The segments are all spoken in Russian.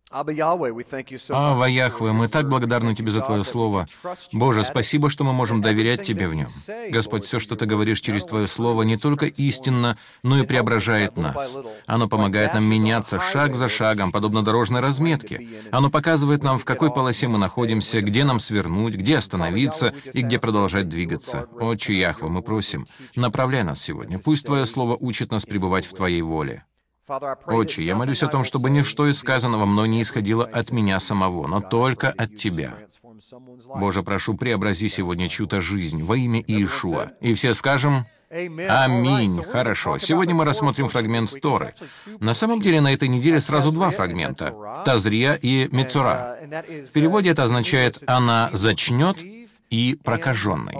Ава Яхве, мы так благодарны Тебе за Твое Слово. Боже, спасибо, что мы можем доверять Тебе в нем. Господь, все, что Ты говоришь через Твое Слово, не только истинно, но и преображает нас. Оно помогает нам меняться шаг за шагом, подобно дорожной разметке. Оно показывает нам, в какой полосе мы находимся, где нам свернуть, где остановиться и где продолжать двигаться. Отче Яхве, мы просим, направляй нас сегодня. Пусть Твое Слово учит нас пребывать в Твоей воле. Отче, я молюсь о том, чтобы ничто из сказанного мной не исходило от меня самого, но только от Тебя. Боже, прошу, преобрази сегодня чью-то жизнь во имя Иешуа. И все скажем «Аминь». Хорошо. Сегодня мы рассмотрим фрагмент Торы. На самом деле, на этой неделе сразу два фрагмента — Тазрия и Мецура. В переводе это означает «она зачнет» и «прокаженный».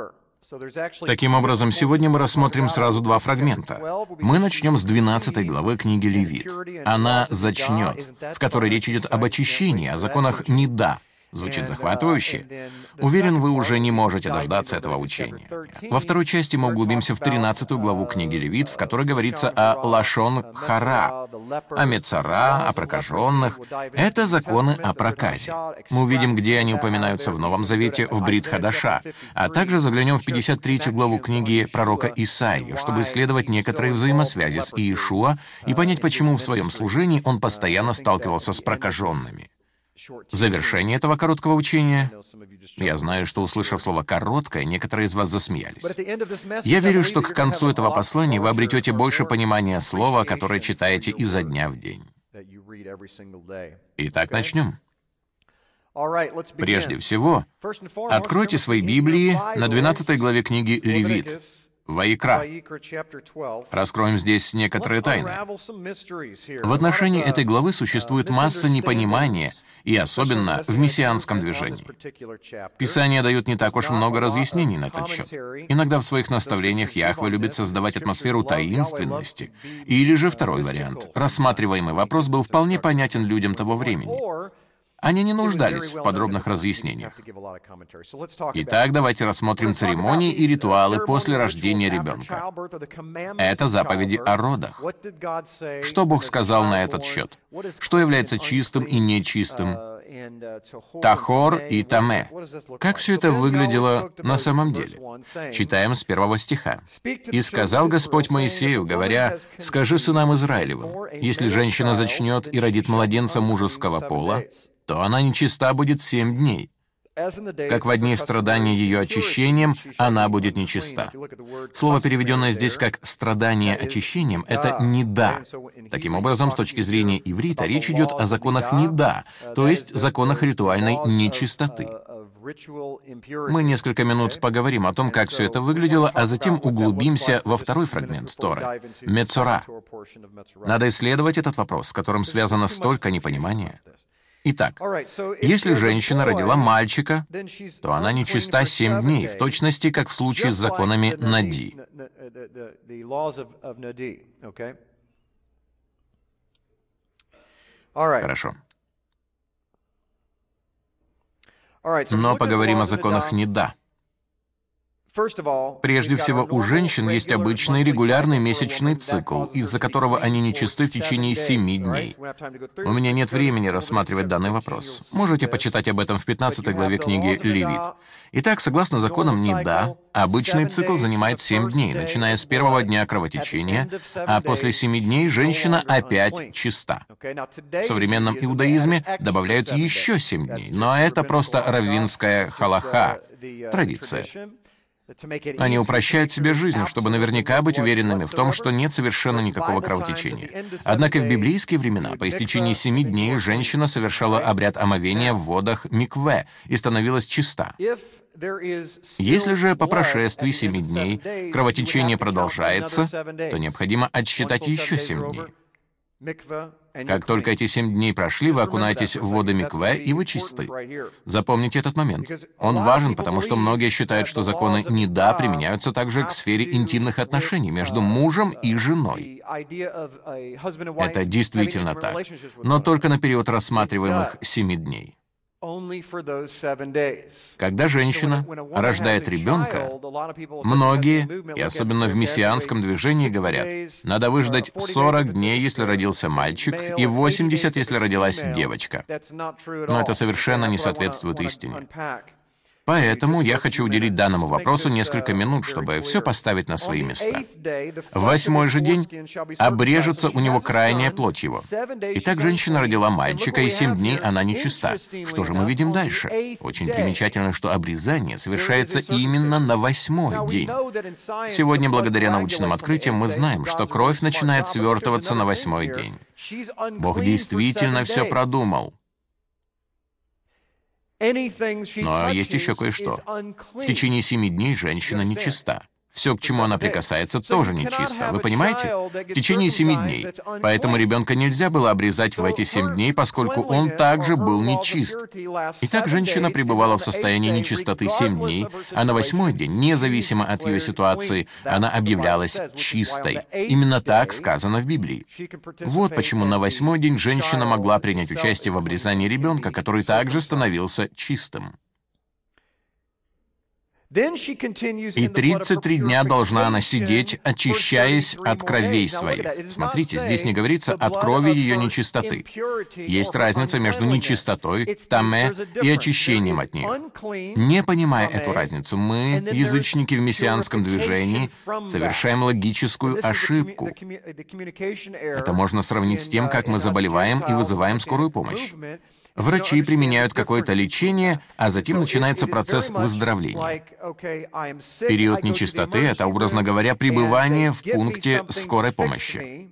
Таким образом, сегодня мы рассмотрим сразу два фрагмента. Мы начнем с 12 главы книги Левит. «Она зачнет», в которой речь идет об очищении, о законах «неда». Звучит захватывающе. Уверен, вы уже не можете дождаться этого учения. Во второй части мы углубимся в 13 главу книги Левит, в которой говорится о лашон хара, о мецара, о прокаженных. Это законы о проказе. Мы увидим, где они упоминаются в Новом Завете, в Брит Хадаша, а также заглянем в 53 главу книги пророка Исаии, чтобы исследовать некоторые взаимосвязи с Иешуа и понять, почему в своем служении он постоянно сталкивался с прокаженными. В завершении этого короткого учения, я знаю, что, услышав слово «короткое», некоторые из вас засмеялись. Я верю, что к концу этого послания вы обретете больше понимания слова, которое читаете изо дня в день. Итак, начнем. Прежде всего, откройте свои Библии на 12 главе книги Левит. Ваикра. Раскроем здесь некоторые тайны. В отношении этой главы существует масса непонимания, и особенно в мессианском движении. Писание дает не так уж много разъяснений на этот счет. Иногда в своих наставлениях Яхве любит создавать атмосферу таинственности. Или же второй вариант. Рассматриваемый вопрос был вполне понятен людям того времени. Они не нуждались в подробных разъяснениях. Итак, давайте рассмотрим церемонии и ритуалы после рождения ребенка. Это заповеди о родах. Что Бог сказал на этот счет? Что является чистым и нечистым? Тахор и Таме. Как все это выглядело на самом деле? Читаем с 1 стиха. «И сказал Господь Моисею, говоря, скажи сынам Израилевым, если женщина зачнет и родит младенца мужеского пола, то она нечиста будет 7 дней. Как в дни страдания ее очищением, она будет нечиста». Слово, переведенное здесь как «страдание очищением», — это «неда». Таким образом, с точки зрения иврита, речь идет о законах неда, то есть законах ритуальной нечистоты. Мы несколько минут поговорим о том, как все это выглядело, а затем углубимся во второй фрагмент Торы — Мецора. Надо исследовать этот вопрос, с которым связано столько непонимания. Итак, если женщина родила мальчика, то она нечиста 7 дней, в точности, как в случае с законами Нади. Хорошо. Но поговорим о законах Неда. Прежде всего, у женщин есть обычный регулярный месячный цикл, из-за которого они нечисты в течение 7 дней. У меня нет времени рассматривать данный вопрос. Можете почитать об этом в 15 главе книги Левит. Итак, согласно законам Неда, обычный цикл занимает 7 дней, начиная с первого дня кровотечения, а после 7 дней женщина опять чиста. В современном иудаизме добавляют еще 7 дней, но это просто раввинская халаха, традиция. Они упрощают себе жизнь, чтобы наверняка быть уверенными в том, что нет совершенно никакого кровотечения. Однако в библейские времена по истечении 7 дней женщина совершала обряд омовения в водах микве и становилась чиста. Если же по прошествии 7 дней кровотечение продолжается, то необходимо отсчитать еще 7 дней. Как только эти 7 дней прошли, вы окунаетесь в воды микве, и вы чисты. Запомните этот момент. Он важен, потому что многие считают, что законы Неда применяются также к сфере интимных отношений между мужем и женой. Это действительно так, но только на период рассматриваемых 7 дней. Когда женщина рождает ребенка, многие, и особенно в мессианском движении, говорят, надо выждать 40 дней, если родился мальчик, и 80, если родилась девочка. Но это совершенно не соответствует истине. Поэтому я хочу уделить данному вопросу несколько минут, чтобы все поставить на свои места. В 8-й же день обрежется у него крайняя плоть его. Итак, женщина родила мальчика, и 7 дней она нечиста. Что же мы видим дальше? Очень примечательно, что обрезание совершается именно на 8-й день. Сегодня, благодаря научным открытиям, мы знаем, что кровь начинает свертываться на 8-й день. Бог действительно все продумал. Но есть еще кое-что. В течение 7 дней женщина нечиста. Все, к чему она прикасается, тоже нечисто. Вы понимаете? В течение 7 дней. Поэтому ребенка нельзя было обрезать в эти 7 дней, поскольку он также был нечист. Итак, женщина пребывала в состоянии нечистоты 7 дней, а на 8-й день, независимо от ее ситуации, она объявлялась чистой. Именно так сказано в Библии. Вот почему на 8-й день женщина могла принять участие в обрезании ребенка, который также становился чистым. И 33 дня должна она сидеть, очищаясь от кровей своих. Смотрите, здесь не говорится от крови ее нечистоты. Есть разница между нечистотой, тамэ, и очищением от нее. Не понимая эту разницу, мы, язычники в мессианском движении, совершаем логическую ошибку. Это можно сравнить с тем, как мы заболеваем и вызываем скорую помощь. Врачи применяют какое-то лечение, а затем начинается процесс выздоровления. Период нечистоты — это, образно говоря, пребывание в пункте скорой помощи.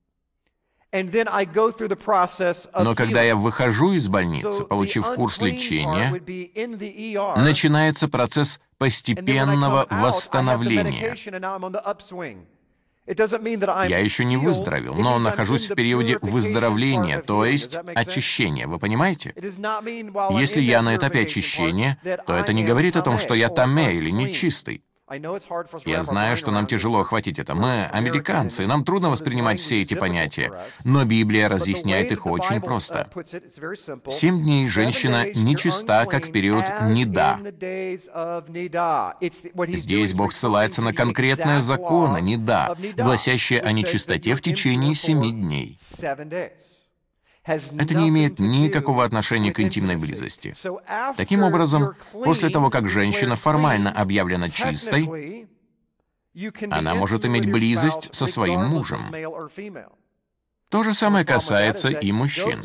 Но когда я выхожу из больницы, получив курс лечения, начинается процесс постепенного восстановления. Я еще не выздоровел, но нахожусь в периоде выздоровления, то есть очищения. Вы понимаете? Если я на этапе очищения, то это не говорит о том, что я тамэ или нечистый. Я знаю, что нам тяжело охватить это. Мы американцы, нам трудно воспринимать все эти понятия. Но Библия разъясняет их очень просто. 7 дней женщина нечиста, как в период нида. Здесь Бог ссылается на конкретные законы нида, гласящие о нечистоте в течение 7 дней. Это не имеет никакого отношения к интимной близости. Таким образом, после того, как женщина формально объявлена чистой, она может иметь близость со своим мужем. То же самое касается и мужчин.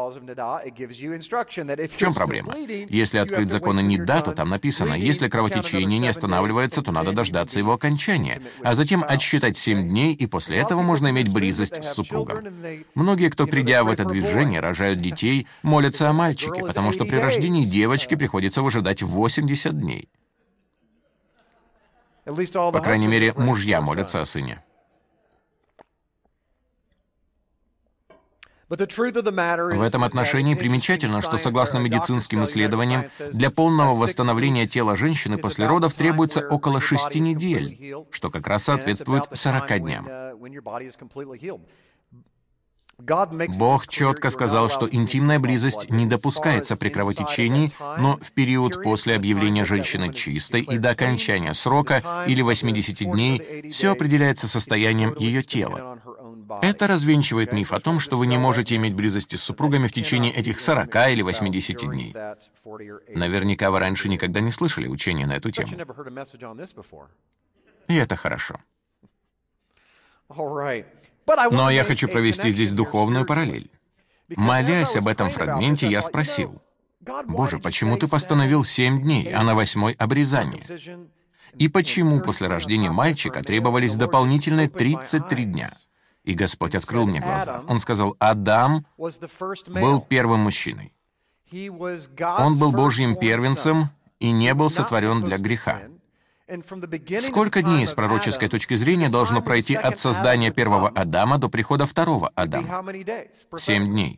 В чем проблема? Если открыть законы нида, то там написано, если кровотечение не останавливается, то надо дождаться его окончания, а затем отсчитать 7 дней, и после этого можно иметь близость с супругом. Многие, кто, придя в это движение, рожают детей, молятся о мальчике, потому что при рождении девочки приходится выжидать 80 дней. По крайней мере, мужья молятся о сыне. В этом отношении примечательно, что согласно медицинским исследованиям, для полного восстановления тела женщины после родов требуется около 6 недель, что как раз соответствует 40 дням. Бог четко сказал, что интимная близость не допускается при кровотечении, но в период после объявления женщины чистой и до окончания срока или 80 дней все определяется состоянием ее тела. Это развенчивает миф о том, что вы не можете иметь близости с супругами в течение этих 40 или 80 дней. Наверняка вы раньше никогда не слышали учения на эту тему. И это хорошо. Но я хочу провести здесь духовную параллель. Молясь об этом фрагменте, я спросил: «Боже, почему ты постановил 7 дней, а на 8-й обрезание? И почему после рождения мальчика требовались дополнительные 33 дня?» И Господь открыл мне глаза. Он сказал: Адам был первым мужчиной. Он был Божьим первенцем и не был сотворен для греха. Сколько дней с пророческой точки зрения должно пройти от создания первого Адама до прихода второго Адама? 7 дней.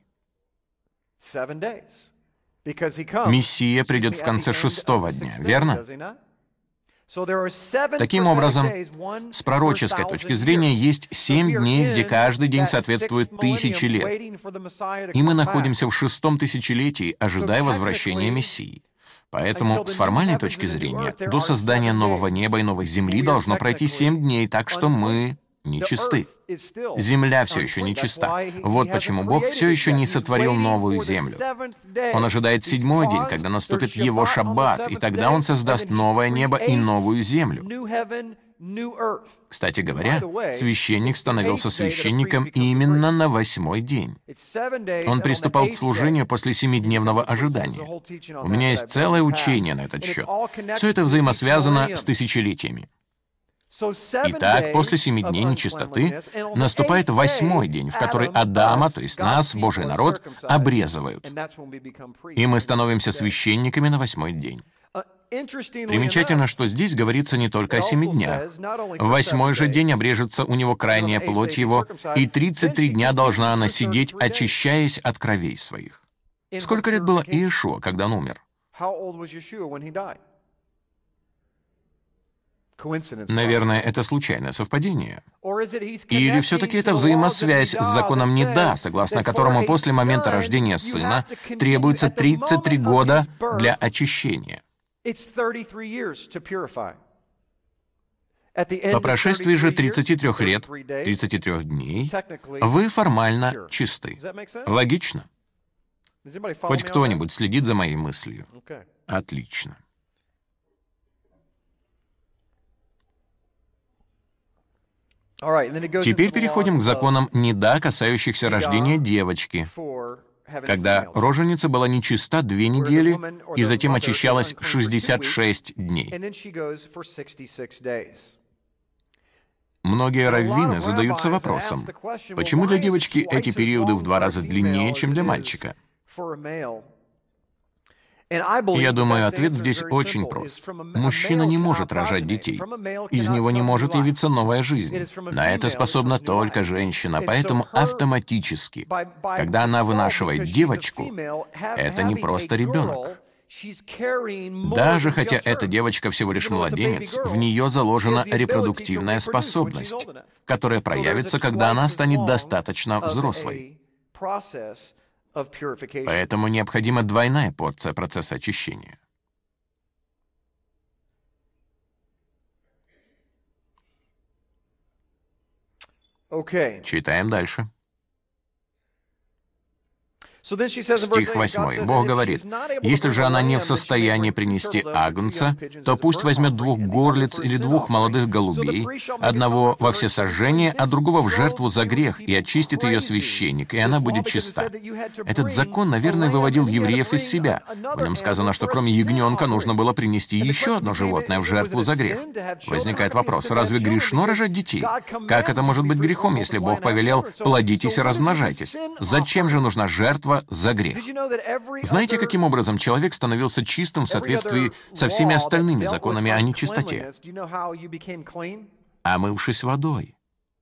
Мессия придет в конце 6-го дня, верно? Таким образом, с пророческой точки зрения есть 7 дней, где каждый день соответствует 1000 лет. И мы находимся в 6-м тысячелетии, ожидая возвращения Мессии. Поэтому, с формальной точки зрения, до создания нового неба и новой земли должно пройти 7 дней, так что мы нечисты. Земля все еще нечиста. Вот почему Бог все еще не сотворил новую землю. Он ожидает 7-й день, когда наступит Его шаббат, и тогда Он создаст новое небо и новую землю. Кстати говоря, священник становился священником именно на 8-й день. Он приступал к служению после 7-дневного ожидания. У меня есть целое учение на этот счет. Все это взаимосвязано с тысячелетиями. Итак, после 7 дней нечистоты наступает 8-й день, в который Адама, то есть нас, Божий народ, обрезывают. И мы становимся священниками на 8-й день. Примечательно, что здесь говорится не только о 7 днях. В 8-й же день обрежется у него крайняя плоть его, и 33 дня должна она сидеть, очищаясь от кровей своих. Сколько лет было Иешуа, когда он умер? Наверное, это случайное совпадение. Или все-таки это взаимосвязь с законом Неда, согласно которому после момента рождения сына требуется 33 года для очищения. По прошествии же 33 лет, 33 дней, вы формально чисты. Логично? Хоть кто-нибудь следит за моей мыслью? Отлично. Теперь переходим к законам Неда, касающихся рождения девочки, когда роженица была нечиста 2 недели и затем очищалась 66 дней. Многие раввины задаются вопросом, почему для девочки эти периоды в 2 раза длиннее, чем для мальчика? Я думаю, ответ здесь очень прост. Мужчина не может рожать детей. Из него не может явиться новая жизнь. На это способна только женщина, поэтому автоматически, когда она вынашивает девочку, это не просто ребенок. Даже хотя эта девочка всего лишь младенец, в нее заложена репродуктивная способность, которая проявится, когда она станет достаточно взрослой. Поэтому необходима двойная порция процесса очищения. Читаем дальше. Стих 8. Бог говорит: «Если же она не в состоянии принести агнца, то пусть возьмет 2 горлиц или 2 молодых голубей, одного во всесожжение, а другого в жертву за грех, и очистит ее священник, и она будет чиста». Этот закон, наверное, выводил евреев из себя. В нем сказано, что кроме ягненка нужно было принести еще одно животное в жертву за грех. Возникает вопрос, разве грешно рожать детей? Как это может быть грехом, если Бог повелел: «Плодитесь и размножайтесь»? Зачем же нужна жертва за грех? Знаете, каким образом человек становился чистым в соответствии со всеми остальными законами о нечистоте? Омывшись водой.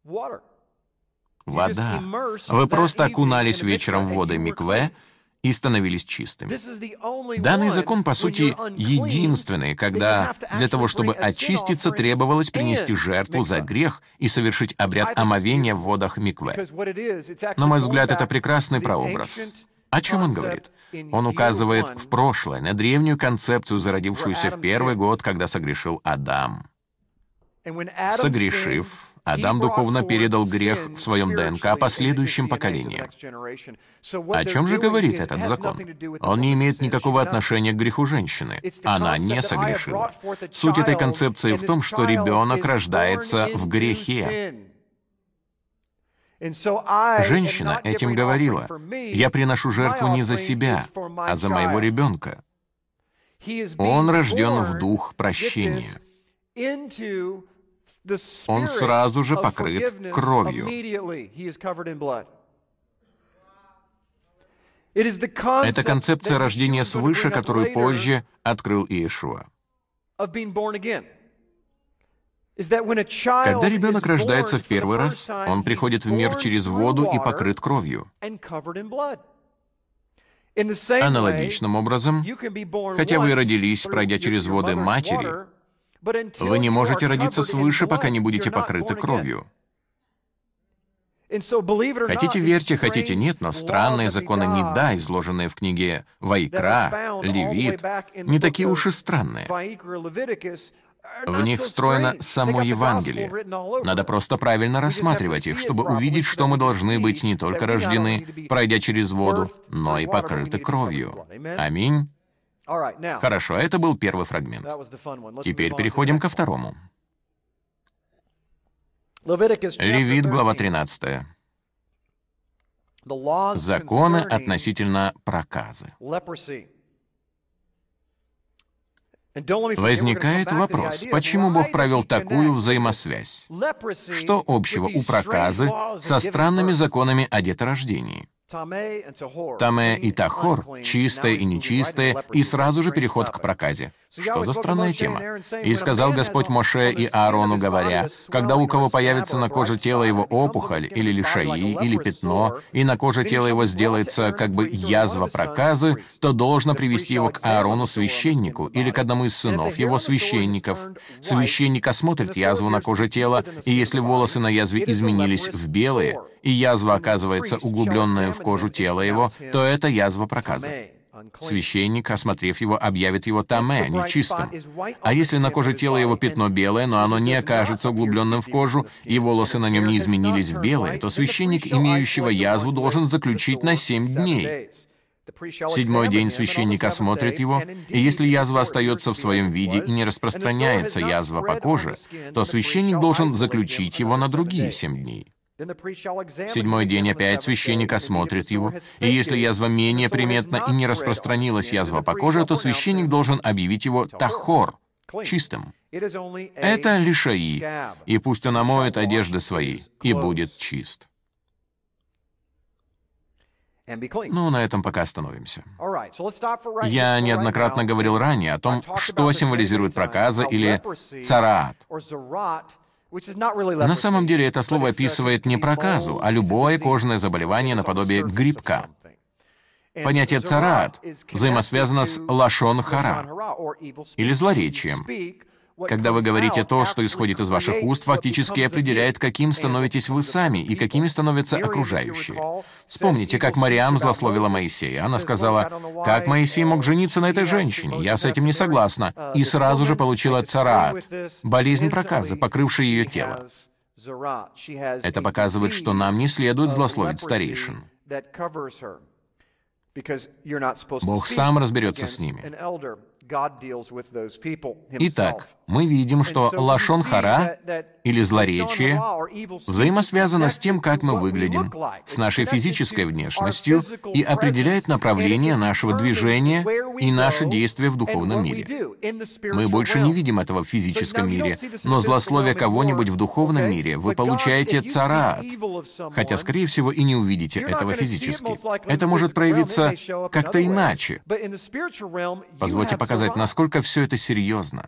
Вода. Вы просто окунались вечером в воды микве и становились чистыми. Данный закон, по сути, единственный, когда для того, чтобы очиститься, требовалось принести жертву за грех и совершить обряд омовения в водах микве. На мой взгляд, это прекрасный прообраз. О чем он говорит? Он указывает в прошлое, на древнюю концепцию, зародившуюся в первый год, когда согрешил Адам. Согрешив, Адам духовно передал грех в своем ДНК последующим поколениям. О чем же говорит этот закон? Он не имеет никакого отношения к греху женщины. Она не согрешила. Суть этой концепции в том, что ребенок рождается в грехе. Женщина этим говорила: «Я приношу жертву не за себя, а за моего ребенка. Он рожден в дух прощения. Он сразу же покрыт кровью». Это концепция рождения свыше, которую позже открыл Иешуа. Когда ребенок рождается в первый раз, он приходит в мир через воду и покрыт кровью. Аналогичным образом, хотя вы родились, пройдя через воды матери, Вы не можете родиться свыше, пока не будете покрыты кровью. Хотите верьте, хотите нет, но странные законы Нида, изложенные в книге Ваикра, Левит, не такие уж и странные. В них встроено само Евангелие. Надо просто правильно рассматривать их, чтобы увидеть, что мы должны быть не только рождены, пройдя через воду, но и покрыты кровью. Аминь. Хорошо, это был первый фрагмент. Теперь переходим ко второму. Левит, глава 13. Законы относительно проказы. Возникает вопрос, почему Бог провел такую взаимосвязь? Что общего у проказы со странными законами о деторождении? Таме и Тахор, чистое и нечистое, и сразу же переход к проказе. Что за странная тема? «И сказал Господь Моше и Аарону, говоря, когда у кого появится на коже тела его опухоль, или лишаи, или пятно, и на коже тела его сделается как бы язва проказы, то должно привести его к Аарону священнику, или к одному из сынов его священников. Священник осмотрит язву на коже тела, и если волосы на язве изменились в белые, и язва оказывается углубленная в кожу тела его, то это язва проказы. Священник, осмотрев его, объявит его таме, нечистым. А если на коже тела его пятно белое, но оно не окажется углубленным в кожу, и волосы на нем не изменились в белые, то священник, имеющего язву, должен заключить на 7 дней. В 7-й день священник осмотрит его, и если язва остается в своем виде и не распространяется язва по коже, то священник должен заключить его на другие 7 дней. В 7-й день опять священник осмотрит его, и если язва менее приметна и не распространилась язва по коже, то священник должен объявить его тахор, чистым. Это лишаи, и пусть он омоет одежды свои, и будет чист. Ну, на этом пока остановимся. Я неоднократно говорил ранее о том, что символизирует проказа или цараат. На самом деле это слово описывает не проказу, а любое кожное заболевание наподобие грибка. Понятие цараат взаимосвязано с лашон хара, или злоречием. Когда вы говорите то, что исходит из ваших уст, фактически определяет, каким становитесь вы сами и какими становятся окружающие. Вспомните, как Мариам злословила Моисея. Она сказала, «Как Моисей мог жениться на этой женщине? Я с этим не согласна». И сразу же получила цараат, болезнь проказы, покрывшая ее тело. Это показывает, что нам не следует злословить старейшин. Бог сам разберется с ними. Итак, мы видим, что лашон хара, или злоречие, взаимосвязано с тем, как мы выглядим, с нашей физической внешностью и определяет направление нашего движения и наши действия в духовном мире. Мы больше не видим этого в физическом мире, но злословие кого-нибудь в духовном мире вы получаете цараат, хотя, скорее всего, и не увидите этого физически. Это может проявиться как-то иначе. Позвольте показать, насколько все это серьезно.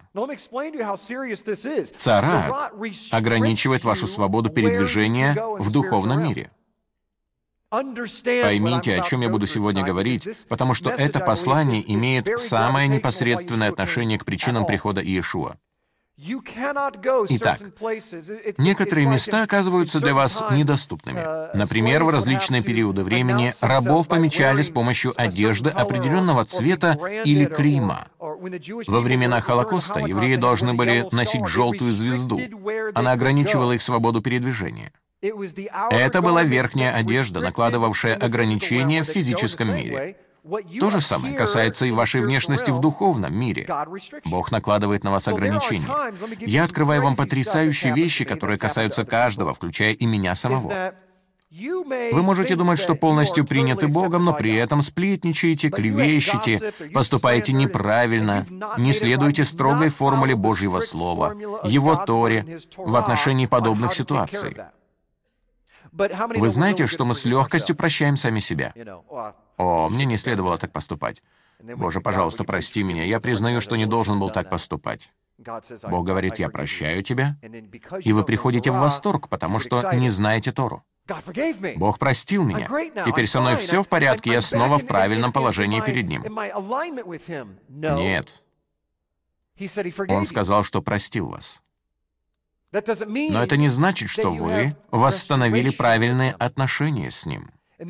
Цараат ограничивает вашу свободу передвижения в духовном мире. Поймите, о чем я буду сегодня говорить, потому что это послание имеет самое непосредственное отношение к причинам прихода Иешуа. Итак, некоторые места оказываются для вас недоступными. Например, в различные периоды времени рабов помечали с помощью одежды определенного цвета или клейма. Во времена Холокоста евреи должны были носить желтую звезду. Она ограничивала их свободу передвижения. Это была верхняя одежда, накладывавшая ограничения в физическом мире. То же самое касается и вашей внешности в духовном мире. Бог накладывает на вас ограничения. Я открываю вам потрясающие вещи, которые касаются каждого, включая и меня самого. Вы можете думать, что полностью приняты Богом, но при этом сплетничаете, клевещете, поступаете неправильно, не следуете строгой формуле Божьего Слова, Его Торе в отношении подобных ситуаций. Вы знаете, что мы с легкостью прощаем сами себя? О, мне не следовало так поступать. Боже, пожалуйста, прости меня, я признаю, что не должен был так поступать. Бог говорит, я прощаю тебя, и вы приходите в восторг, потому что не знаете Тору. Бог простил меня. Теперь со мной все в порядке, я снова в правильном положении перед Ним. Нет. Он сказал, что простил вас. Но это не значит, что вы восстановили правильные отношения с Ним.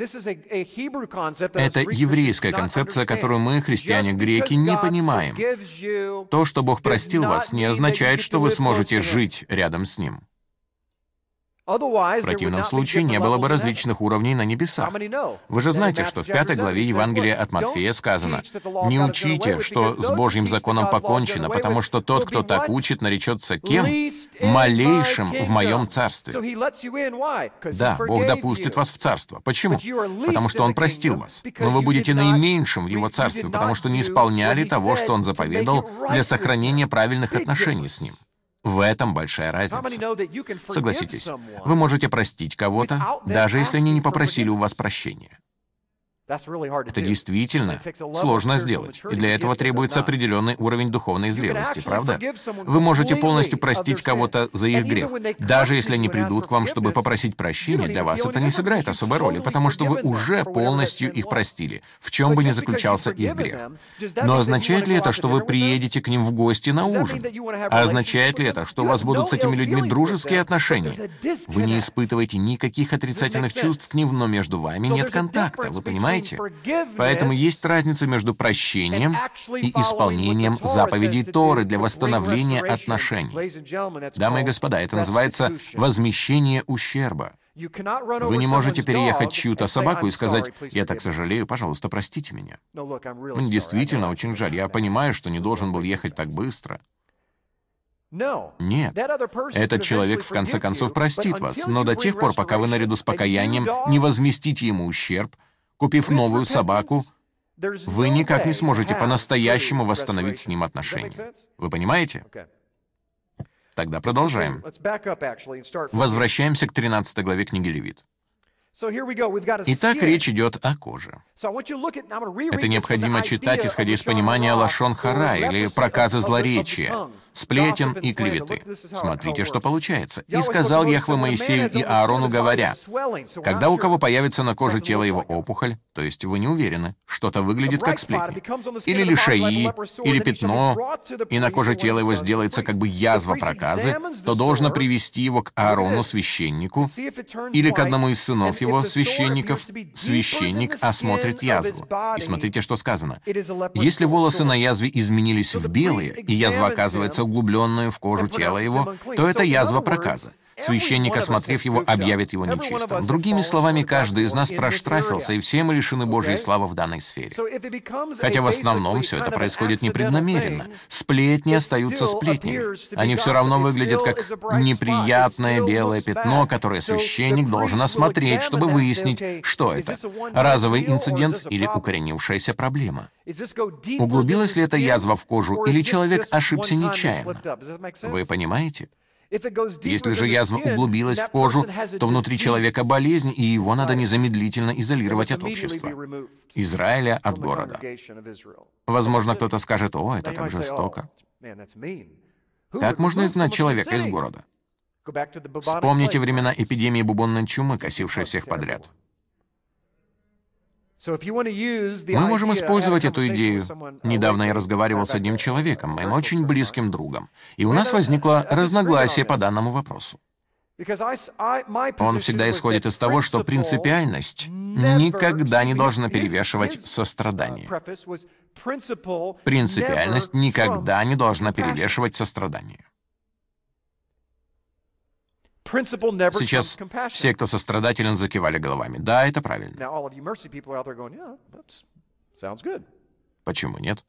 Это еврейская концепция, которую мы, христиане-греки, не понимаем. То, что Бог простил вас, не означает, что вы сможете жить рядом с Ним. В противном случае не было бы различных уровней на небесах. Вы же знаете, что в 5 главе Евангелия от Матфея сказано: «Не учите, что с Божьим законом покончено, потому что тот, кто так учит, наречется кем? Малейшим в моем царстве». Да, Бог допустит вас в царство. Почему? Потому что Он простил вас. Но вы будете наименьшим в Его царстве, потому что не исполняли того, что Он заповедал для сохранения правильных отношений с Ним. В этом большая разница. Согласитесь, вы можете простить кого-то, даже если они не попросили у вас прощения. Это действительно сложно сделать, и для этого требуется определенный уровень духовной зрелости, правда? Вы можете полностью простить кого-то за их грех. Даже если они придут к вам, чтобы попросить прощения, для вас это не сыграет особой роли, потому что вы уже полностью их простили, в чем бы ни заключался их грех. Но означает ли это, что вы приедете к ним в гости на ужин? А означает ли это, что у вас будут с этими людьми дружеские отношения? Вы не испытываете никаких отрицательных чувств к ним, но между вами нет контакта, вы понимаете? Поэтому есть разница между прощением и исполнением заповедей Торы для восстановления отношений. Дамы и господа, это называется возмещение ущерба. Вы не можете переехать чью-то собаку и сказать: «Я так сожалею, пожалуйста, простите меня». Мне действительно очень жаль, я понимаю, что не должен был ехать так быстро. Нет, этот человек в конце концов простит вас, но до тех пор, пока вы наряду с покаянием не возместите ему ущерб, купив новую собаку, вы никак не сможете по-настоящему восстановить с ним отношения. Вы понимаете? Тогда продолжаем. Возвращаемся к 13 главе книги Левит. Итак, речь идет о коже. Это необходимо читать, исходя из понимания лашон хара, или проказы злоречия, сплетен и клеветы. Смотрите, что получается. «И сказал Яхве Моисею и Аарону, говоря: когда у кого появится на коже тела его опухоль, то есть вы не уверены, что-то выглядит как сплетни, или лишаи, или пятно, и на коже тела его сделается как бы язва проказы, то должно привести его к Аарону, священнику, или к одному из сынов его, священников. Священник осмотрит язву». И смотрите, что сказано. «Если волосы на язве изменились в белые, и язва оказывается углубленную в кожу тела его, то это язва проказа. Священник, осмотрев его, объявит его нечистым». Другими словами, каждый из нас проштрафился, и все мы лишены Божьей славы в данной сфере. Хотя в основном все это происходит непреднамеренно. Сплетни остаются сплетнями. Они все равно выглядят как неприятное белое пятно, которое священник должен осмотреть, чтобы выяснить, что это. Разовый инцидент или укоренившаяся проблема. Углубилась ли эта язва в кожу, или человек ошибся нечаянно? Вы понимаете? Если же язва углубилась в кожу, то внутри человека болезнь, и его надо незамедлительно изолировать от общества, Израиля от города. Возможно, кто-то скажет: «О, это так жестоко». Как можно изгнать человека из города? Вспомните времена эпидемии бубонной чумы, косившей всех подряд. Мы можем использовать эту идею. Недавно я разговаривал с одним человеком, моим очень близким другом, и у нас возникло разногласие по данному вопросу. Он всегда исходит из того, что принципиальность никогда не должна перевешивать сострадание. Принципиальность никогда не должна перевешивать сострадание. Сейчас все, кто сострадателен, закивали головами. Да, это правильно. Почему нет?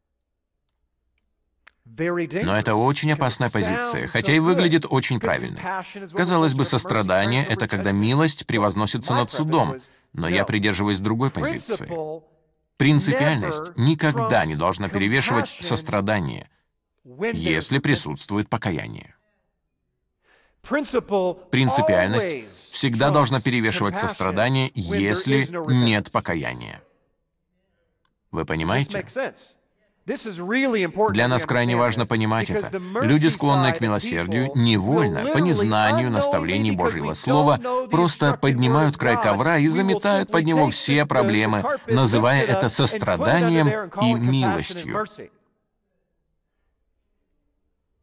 Но это очень опасная позиция, хотя и выглядит очень правильной. Казалось бы, сострадание — это когда милость превозносится над судом, но я придерживаюсь другой позиции. Принципиальность никогда не должна перевешивать сострадание, если присутствует покаяние. Принципиальность всегда должна перевешивать сострадание, если нет покаяния. Вы понимаете? Для нас крайне важно понимать это. Люди, склонные к милосердию, невольно, по незнанию наставлений Божьего Слова, просто поднимают край ковра и заметают под него все проблемы, называя это состраданием и милостью.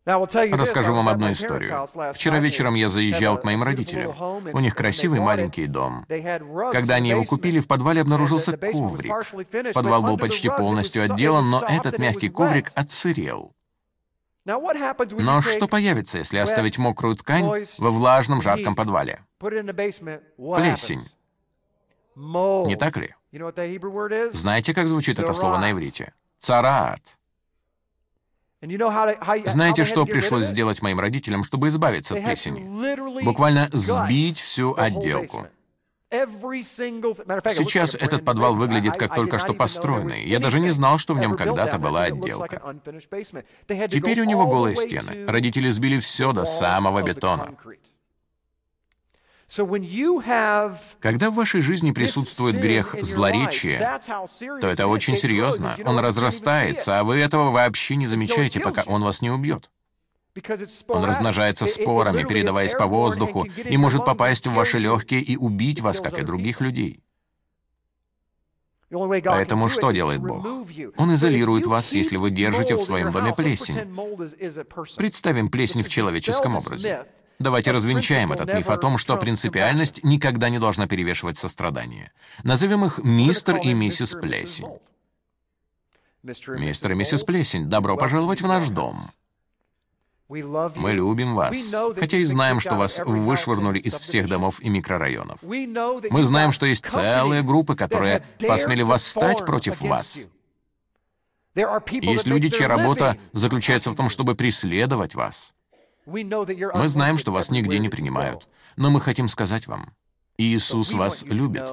Расскажу вам одну историю. Вчера вечером я заезжал к моим родителям. У них красивый маленький дом. Когда они его купили, в подвале обнаружился коврик. Подвал был почти полностью отделан, но этот мягкий коврик отсырел. Но что появится, если оставить мокрую ткань во влажном, жарком подвале? Плесень. Не так ли? Знаете, как звучит это слово на иврите? Цараат. Знаете, что пришлось сделать моим родителям, чтобы избавиться от плесени? Буквально сбить всю отделку. Сейчас этот подвал выглядит как только что построенный. Я даже не знал, что в нем когда-то была отделка. Теперь у него голые стены. Родители сбили все до самого бетона. Когда в вашей жизни присутствует грех злоречия, то это очень серьезно. Он разрастается, а вы этого вообще не замечаете, пока он вас не убьет. Он размножается спорами, передаваясь по воздуху, и может попасть в ваши легкие и убить вас, как и других людей. Поэтому что делает Бог? Он изолирует вас, если вы держите в своем доме плесень. Представим плесень в человеческом образе. Давайте развенчаем этот миф о том, что принципиальность никогда не должна перевешивать сострадание. Назовем их мистер и миссис Плесень. Мистер и миссис Плесень, добро пожаловать в наш дом. Мы любим вас, хотя и знаем, что вас вышвырнули из всех домов и микрорайонов. Мы знаем, что есть целые группы, которые посмели восстать против вас. Есть люди, чья работа заключается в том, чтобы преследовать вас. Мы знаем, что вас нигде не принимают, но мы хотим сказать вам, Иисус вас любит.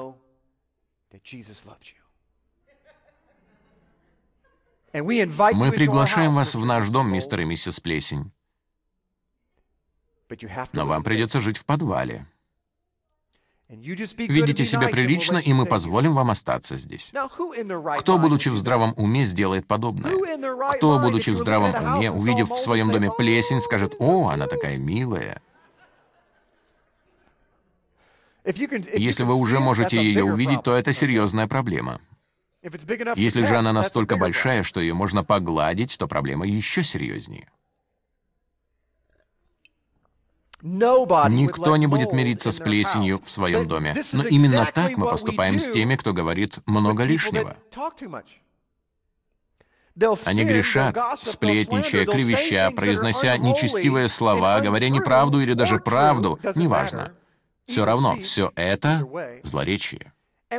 Мы приглашаем вас в наш дом, мистер и миссис Плесень. Но вам придется жить в подвале. Ведите себя прилично, и мы позволим вам остаться здесь. Кто, будучи в здравом уме, сделает подобное? Кто, будучи в здравом уме, увидев в своем доме плесень, скажет: «О, она такая милая». Если вы уже можете ее увидеть, то это серьезная проблема. Если же она настолько большая, что ее можно погладить, то проблема еще серьезнее. Никто не будет мириться с плесенью в своем доме. Но именно так мы поступаем с теми, кто говорит много лишнего. Они грешат, сплетничая, клевеща, произнося нечестивые слова, говоря неправду или даже правду, неважно. Все равно, все это злоречие.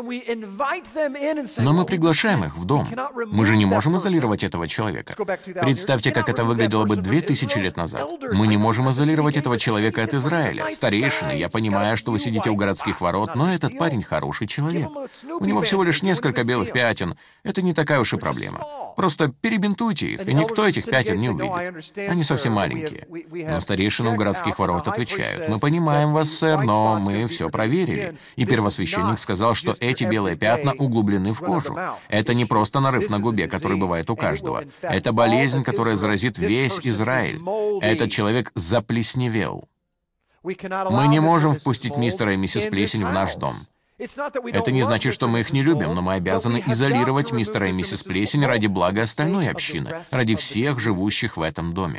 Но мы приглашаем их в дом. Мы же не можем изолировать этого человека. Представьте, как это выглядело бы 2000 лет назад. Мы не можем изолировать этого человека от Израиля. Старейшины, я понимаю, что вы сидите у городских ворот, но этот парень хороший человек. У него всего лишь несколько белых пятен. Это не такая уж и проблема. Просто перебинтуйте их, и никто этих пятен не увидит. Они совсем маленькие. Но старейшины у городских ворот отвечают: «Мы понимаем вас, сэр, но мы все проверили». И первосвященник сказал, что эти белые пятна углублены в кожу. Это не просто нарыв на губе, который бывает у каждого. Это болезнь, которая заразит весь Израиль. Этот человек заплесневел. Мы не можем впустить мистера и миссис Плесень в наш дом. Это не значит, что мы их не любим, но мы обязаны изолировать мистера и миссис Плесень ради блага остальной общины, ради всех живущих в этом доме.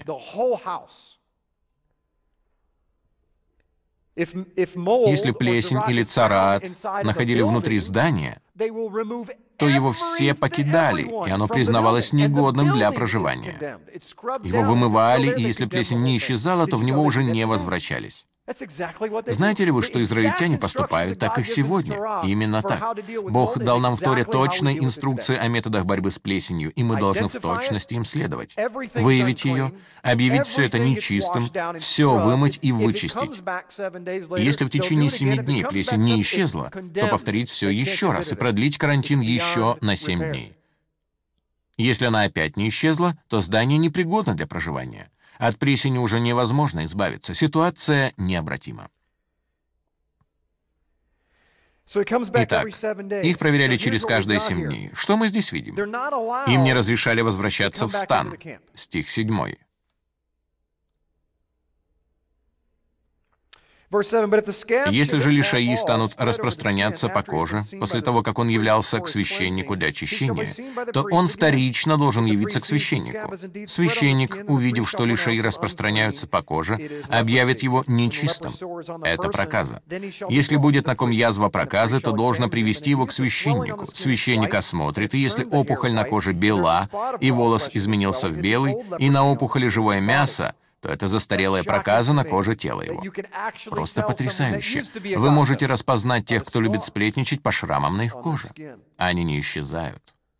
Если плесень или цараат находили внутри здания, то его все покидали, и оно признавалось негодным для проживания. Его вымывали, и если плесень не исчезала, то в него уже не возвращались. Знаете ли вы, что израильтяне поступают так и сегодня? Именно так. Бог дал нам в Торе точные инструкции о методах борьбы с плесенью, и мы должны в точности им следовать. Выявить ее, объявить все это нечистым, все вымыть и вычистить. Если в течение 7 дней плесень не исчезла, то повторить все еще раз и продлить карантин еще на 7 дней. Если она опять не исчезла, то здание непригодно для проживания. От плесени уже невозможно избавиться. Ситуация необратима. Итак, их проверяли через каждые 7 дней. Что мы здесь видим? Им не разрешали возвращаться в стан. Стих 7. Если же лишаи станут распространяться по коже после того, как он являлся к священнику для очищения, то он вторично должен явиться к священнику. Священник, увидев, что лишаи распространяются по коже, объявит его нечистым. Это проказа. Если будет на ком язва проказы, то должно привести его к священнику. Священник осмотрит, и если опухоль на коже бела, и волос изменился в белый, и на опухоли живое мясо, то это застарелая проказа на коже тела его. Просто потрясающе. Вы можете распознать тех, кто любит сплетничать, по шрамам на их коже. Они не исчезают.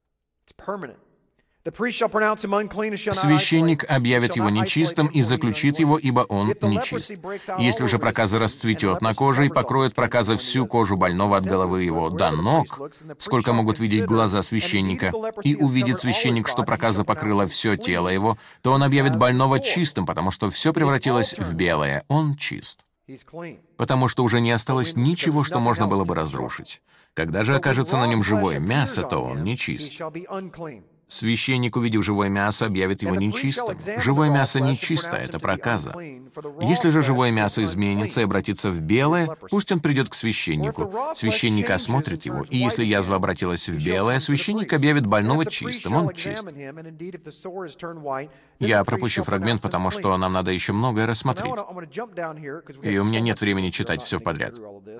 Священник объявит его нечистым и заключит его, ибо он нечист. Если же проказа расцветет на коже и покроет проказа всю кожу больного от головы его до ног, сколько могут видеть глаза священника, и увидит священник, что проказа покрыла все тело его, то он объявит больного чистым, потому что все превратилось в белое. Он чист. Потому что уже не осталось ничего, что можно было бы разрушить. Когда же окажется на нем живое мясо, то он нечист. Священник, увидев живое мясо, объявит его нечистым. Живое мясо нечисто, это проказа. Если же живое мясо изменится и обратится в белое, пусть он придет к священнику. Священник осмотрит его, и если язва обратилась в белое, священник объявит больного чистым, он чист. Я пропущу фрагмент, потому что нам надо еще многое рассмотреть. И у меня нет времени читать все подряд.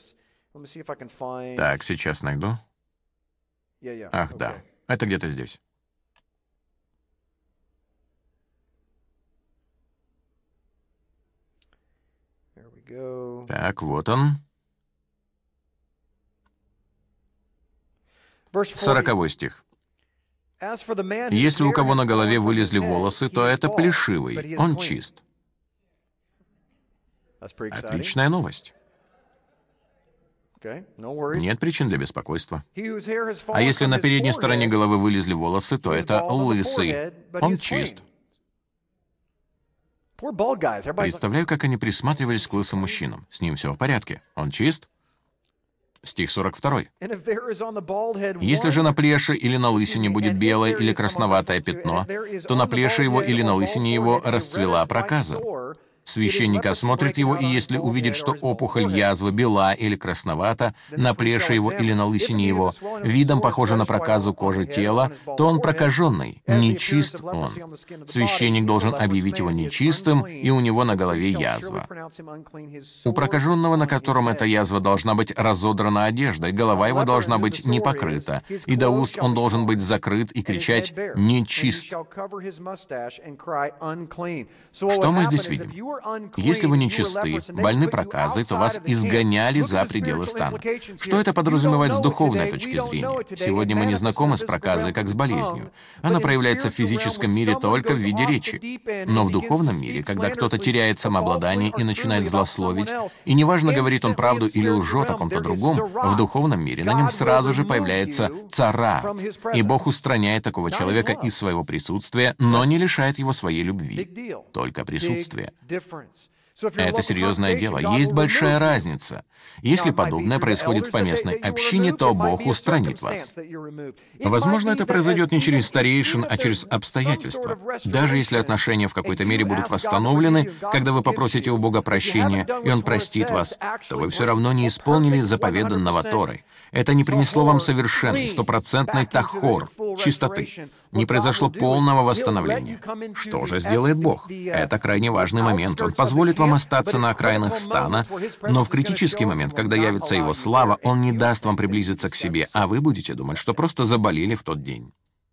Так, сейчас найду. Ах, да. Это где-то здесь. Так, вот он. 40 стих. «Если у кого на голове вылезли волосы, то это плешивый, он чист». Отличная новость. Нет причин для беспокойства. А если на передней стороне головы вылезли волосы, то это лысый, он чист. Представляю, как они присматривались к лысым мужчинам. С ним все в порядке. Он чист? Стих 42. «Если же на плеше или на лысине будет белое или красноватое пятно, то на плеше его или на лысине его расцвела проказа. Священник осмотрит его, и если увидит, что опухоль язвы бела или красновата, на плеше его или на лысине его, видом похожа на проказу кожи тела, то он прокаженный, нечист он. Священник должен объявить его нечистым, и у него на голове язва. У прокаженного, на котором эта язва, должна быть разодрана одежда, и голова его должна быть не покрыта, и до уст он должен быть закрыт и кричать «нечист». Что мы здесь видим? Если вы нечисты, больны проказой, то вас изгоняли за пределы стана. Что это подразумевает с духовной точки зрения? Сегодня мы не знакомы с проказой как с болезнью. Она проявляется в физическом мире только в виде речи. Но в духовном мире, когда кто-то теряет самообладание и начинает злословить, и неважно, говорит он правду или лжет о ком-то другом, в духовном мире на нем сразу же появляется царат, и Бог устраняет такого человека из своего присутствия, но не лишает его своей любви, только присутствия. Это серьезное дело. Есть большая разница. Если подобное происходит в поместной общине, то Бог устранит вас. Возможно, это произойдет не через старейшин, а через обстоятельства. Даже если отношения в какой-то мере будут восстановлены, когда вы попросите у Бога прощения, и Он простит вас, то вы все равно не исполнили заповеданного Торой. Это не принесло вам совершенный, стопроцентный тахор, чистоты. Не произошло полного восстановления. Что же сделает Бог? Это крайне важный момент. Он позволит вам остаться на окраинах стана, но в критический момент, когда явится Его слава, Он не даст вам приблизиться к себе, а вы будете думать, что просто заболели в тот день.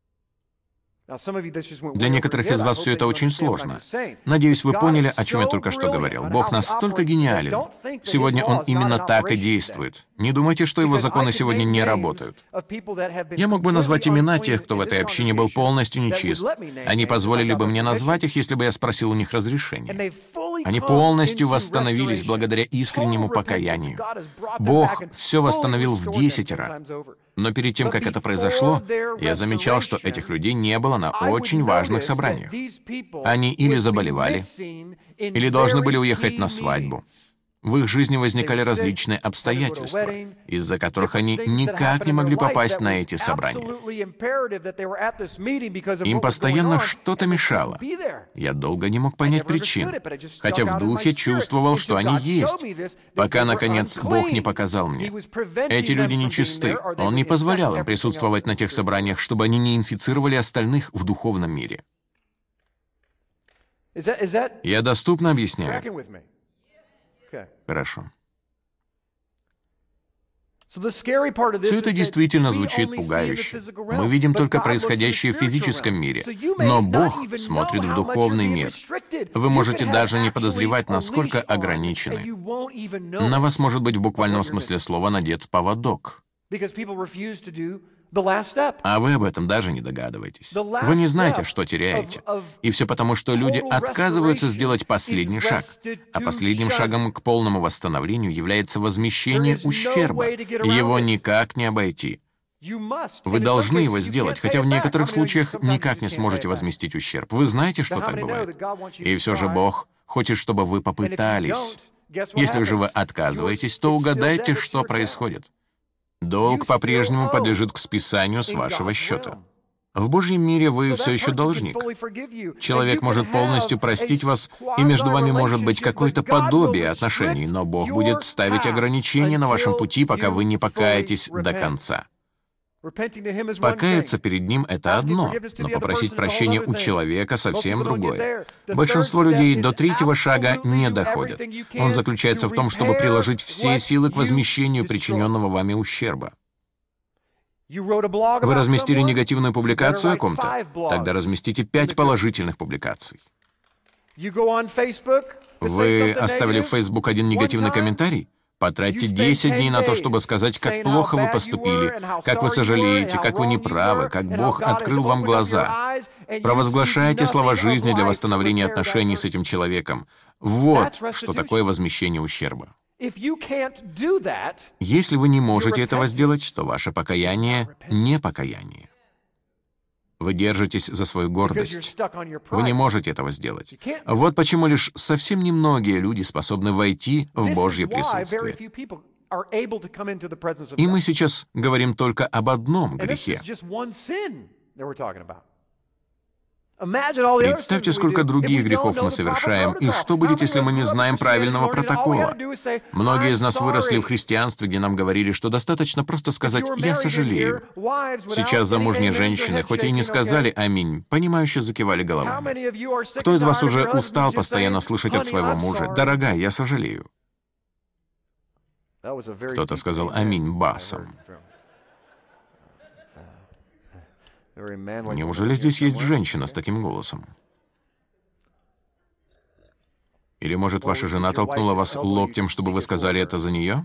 Для некоторых из вас все это очень сложно. Надеюсь, вы поняли, о чем я только что говорил. Бог настолько гениален. Сегодня Он именно так и действует. Не думайте, что Его законы сегодня не работают. Я мог бы назвать имена тех, кто в этой общине был полностью нечист. Они позволили бы мне назвать их, если бы я спросил у них разрешения. Они полностью восстановились благодаря искреннему покаянию. Бог все восстановил в 10 раз. Но перед тем, как это произошло, я замечал, что этих людей не было на очень важных собраниях. Они или заболевали, или должны были уехать на свадьбу. В их жизни возникали различные обстоятельства, из-за которых они никак не могли попасть на эти собрания. Им постоянно что-то мешало. Я долго не мог понять причин, хотя в духе чувствовал, что они есть, пока, наконец, Бог не показал мне. Эти люди нечисты. Он не позволял им присутствовать на тех собраниях, чтобы они не инфицировали остальных в духовном мире. Я доступно объясняю? Хорошо. Все это действительно звучит пугающе. Мы видим только происходящее в физическом мире, но Бог смотрит в духовный мир. Вы можете даже не подозревать, насколько ограничены. На вас может быть в буквальном смысле слова надет поводок. А вы об этом даже не догадываетесь. Вы не знаете, что теряете. И все потому, что люди отказываются сделать последний шаг. А последним шагом к полному восстановлению является возмещение ущерба. Его никак не обойти. Вы должны его сделать, хотя в некоторых случаях никак не сможете возместить ущерб. Вы знаете, что так бывает? И все же Бог хочет, чтобы вы попытались. Если же вы отказываетесь, то угадайте, что происходит. Долг по-прежнему подлежит к списанию с вашего счета. В Божьем мире вы все еще должник. Человек может полностью простить вас, и между вами может быть какое-то подобие отношений, но Бог будет ставить ограничения на вашем пути, пока вы не покаетесь до конца. Покаяться перед Ним — это одно, но попросить прощения у человека — совсем другое. Большинство людей до третьего шага не доходят. Он заключается в том, чтобы приложить все силы к возмещению причиненного вами ущерба. Вы разместили негативную публикацию о ком-то? Тогда разместите 5 положительных публикаций. Вы оставили в Facebook один негативный комментарий? Потратьте 10 дней на то, чтобы сказать, как плохо вы поступили, как вы сожалеете, как вы неправы, как Бог открыл вам глаза. Провозглашайте слова жизни для восстановления отношений с этим человеком. Вот что такое возмещение ущерба. Если вы не можете этого сделать, то ваше покаяние — не покаяние. Вы держитесь за свою гордость. Вы не можете этого сделать. Вот почему лишь совсем немногие люди способны войти в Божье присутствие. И мы сейчас говорим только об одном грехе. Представьте, сколько других грехов мы совершаем, и что будет, если мы не знаем правильного протокола? Многие из нас выросли в христианстве, где нам говорили, что достаточно просто сказать «я сожалею». Сейчас замужние женщины, хоть и не сказали «аминь», понимающе закивали головами. Кто из вас уже устал постоянно слышать от своего мужа «дорогая, я сожалею»? Кто-то сказал «аминь» басом. Неужели здесь есть женщина с таким голосом? Или, может, ваша жена толкнула вас локтем, чтобы вы сказали это за нее?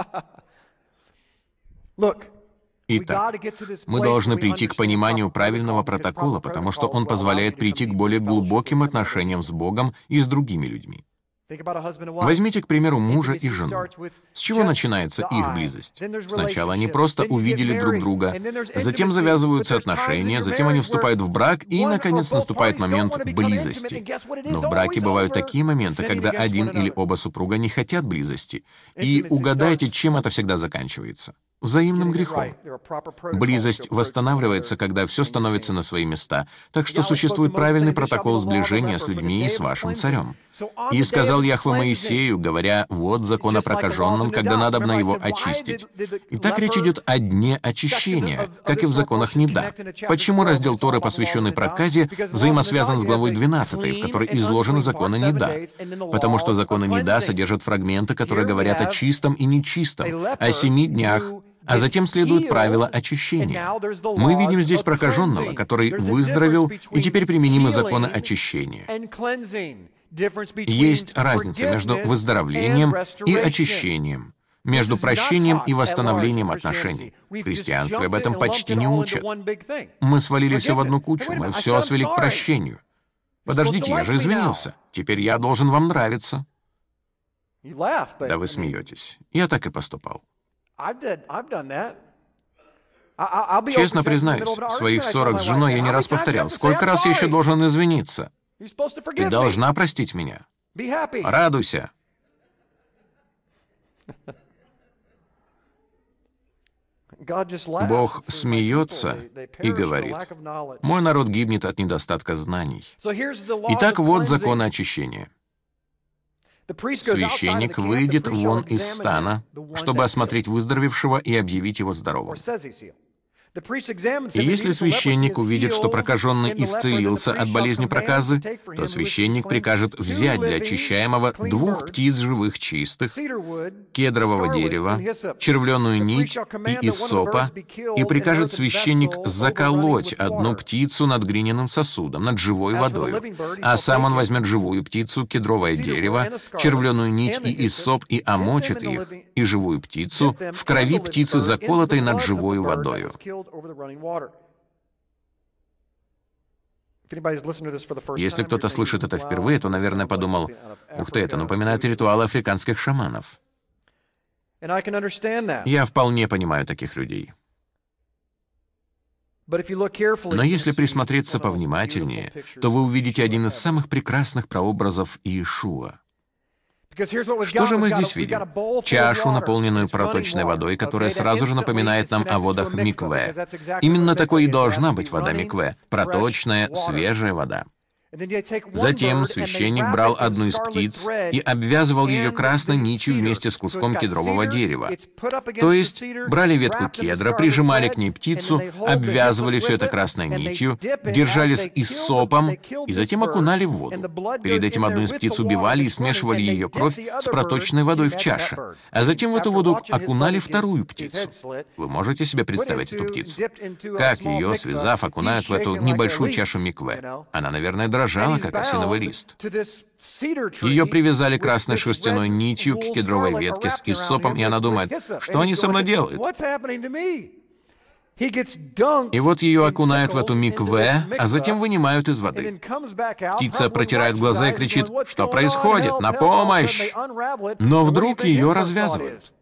Итак, мы должны прийти к пониманию правильного протокола, потому что он позволяет прийти к более глубоким отношениям с Богом и с другими людьми. Возьмите, к примеру, мужа и жену. С чего начинается их близость? Сначала они просто увидели друг друга, затем завязываются отношения, затем они вступают в брак, и, наконец, наступает момент близости. Но в браке бывают такие моменты, когда один или оба супруга не хотят близости. И угадайте, чем это всегда заканчивается? Взаимным грехом. Близость восстанавливается, когда все становится на свои места, так что существует правильный протокол сближения с людьми и с вашим царем. «И сказал Яхве Моисею, говоря, вот закон о прокаженном, когда надобно его очистить». Итак, речь идет о дне очищения, как и в законах Нида. Почему раздел Торы, посвященный проказе, взаимосвязан с главой 12, в которой изложены законы Нида? Потому что законы Нида содержат фрагменты, которые говорят о чистом и нечистом, о 7 днях, а затем следует правило очищения. Мы видим здесь прокаженного, который выздоровел, и теперь применимы законы очищения. Есть разница между выздоровлением и очищением, между прощением и восстановлением отношений. В христианстве об этом почти не учат. Мы свалили все в одну кучу, мы все свели к прощению. Подождите, я же извинился. Теперь я должен вам нравиться. Да вы смеетесь. Я так и поступал. Честно признаюсь, в своих ссорах с женой я не раз повторял, сколько раз я еще должен извиниться? Ты должна простить меня. Радуйся. Бог смеется и говорит: «Мой народ гибнет от недостатка знаний». Итак, вот законы очищения. Священник выйдет вон из стана, чтобы осмотреть выздоровевшего и объявить его здоровым. И если священник увидит, что прокаженный исцелился от болезни проказы, то священник прикажет взять для очищаемого 2 птиц живых чистых, кедрового дерева, червленую нить и иссопа, и прикажет священник заколоть 1 птицу над глиняным сосудом, над живой водой, а сам он возьмет живую птицу, кедровое дерево, червленую нить и иссоп и омочит их, и живую птицу в крови птицы, заколотой над живой водою. Если кто-то слышит это впервые, то, наверное, подумал: «Ух ты, это напоминает ритуалы африканских шаманов». Я вполне понимаю таких людей. Но если присмотреться повнимательнее, то вы увидите один из самых прекрасных прообразов Иешуа. Что же мы здесь видим? Чашу, наполненную проточной водой, которая сразу же напоминает нам о водах микве. Именно такой и должна быть вода микве — проточная, свежая вода. Затем священник брал 1 из птиц и обвязывал ее красной нитью вместе с куском кедрового дерева. То есть брали ветку кедра, прижимали к ней птицу, обвязывали все это красной нитью, держали с иссопом и затем окунали в воду. Перед этим 1 из птиц убивали и смешивали ее кровь с проточной водой в чаше, а затем в эту воду окунали 2 птицу. Вы можете себе представить эту птицу? Как ее, связав, окунают в эту небольшую чашу микве? Она, наверное, дрожала, как осиновый лист. Ее привязали красной шерстяной нитью к кедровой ветке с иссопом, и она думает: «Что они со мной делают?» И вот ее окунают в эту микве, а затем вынимают из воды. Птица протирает глаза и кричит: «Что происходит? На помощь!» Но вдруг ее развязывают.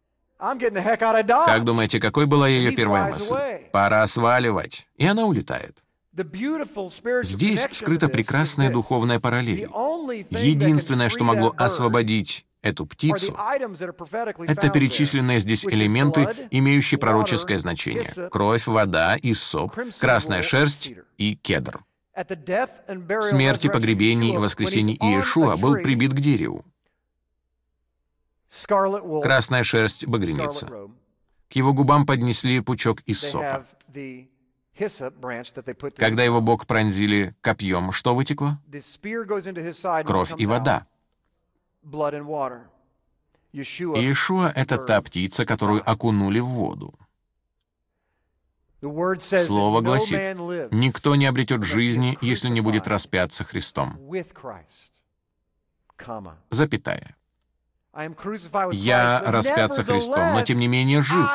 Как думаете, какой была ее первая мысль? Пора сваливать. И она улетает. Здесь скрыта прекрасная духовная параллель. Единственное, что могло освободить эту птицу, это перечисленные здесь элементы, имеющие пророческое значение: кровь, вода, иссоп, красная шерсть и кедр. В смерти, погребении и воскресении Иешуа был прибит к дереву. Красная шерсть — багряница. К его губам поднесли пучок иссопа. Когда его бок пронзили копьем, что вытекло? Кровь и вода. Иешуа — это та птица, которую окунули в воду. Слово гласит: «Никто не обретет жизни, если не будет распят со Христом». Запятая. «Я распят со Христом, но тем не менее жив».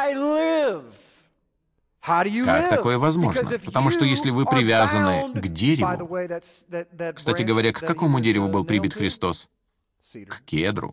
Как такое возможно? Потому что если вы привязаны к дереву... Кстати говоря, к какому дереву был прибит Христос? К кедру.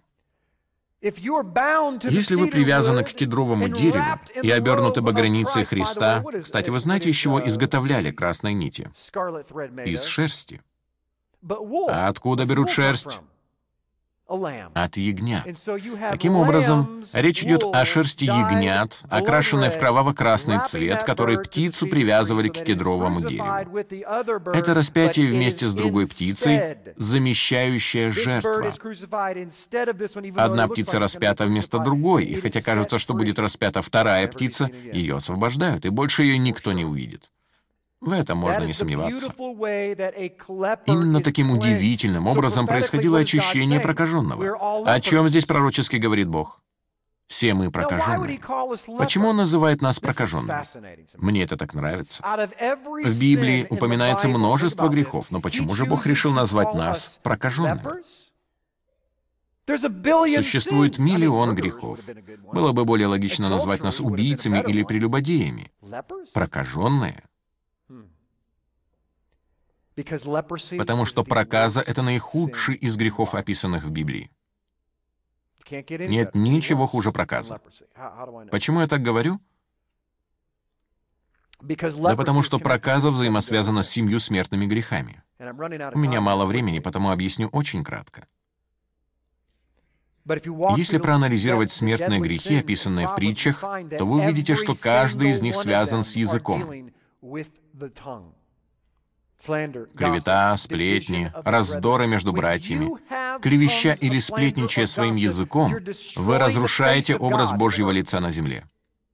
Если вы привязаны к кедровому дереву и обернуты багряницей Христа... Кстати, вы знаете, из чего изготовляли красные нити? Из шерсти. А откуда берут шерсть? От ягнят. Таким образом, речь идет о шерсти ягнят, окрашенной в кроваво-красный цвет, который птицу привязывали к кедровому дереву. Это распятие вместе с другой птицей, замещающая жертва. Одна птица распята вместо другой, и хотя кажется, что будет распята 2-я птица, ее освобождают, и больше ее никто не увидит. В этом можно не сомневаться. Именно таким удивительным образом происходило очищение прокаженного. О чем здесь пророчески говорит Бог? Все мы прокаженные. Почему Он называет нас прокаженными? Мне это так нравится. В Библии упоминается множество грехов, но почему же Бог решил назвать нас прокаженными? Существует миллион грехов. Было бы более логично назвать нас убийцами или прелюбодеями. Прокаженные. Потому что проказа — это наихудший из грехов, описанных в Библии. Нет ничего хуже проказа. Почему я так говорю? Да потому что проказа взаимосвязана с 7 смертными грехами. У меня мало времени, потому объясню очень кратко. Если проанализировать смертные грехи, описанные в притчах, то вы увидите, что каждый из них связан с языком. Клевета, сплетни, раздоры между братьями. Клевеща или сплетничая своим языком, вы разрушаете образ Божьего лица на земле.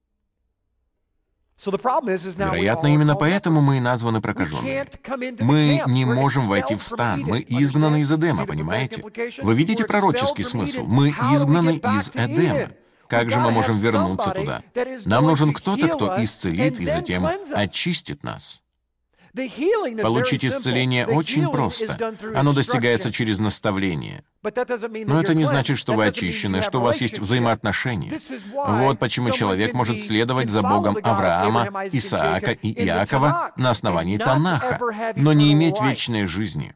Вероятно, именно поэтому мы и названы прокаженными. Мы не можем войти в стан, мы изгнаны из Эдема, понимаете? Вы видите пророческий смысл? Мы изгнаны из Эдема. Как же мы можем вернуться туда? Нам нужен кто-то, кто исцелит и затем очистит нас. Получить исцеление очень просто. Оно достигается через наставление. Но это не значит, что вы очищены, что у вас есть взаимоотношения. Вот почему человек может следовать за Богом Авраама, Исаака и Иакова на основании Танаха, но не иметь вечной жизни.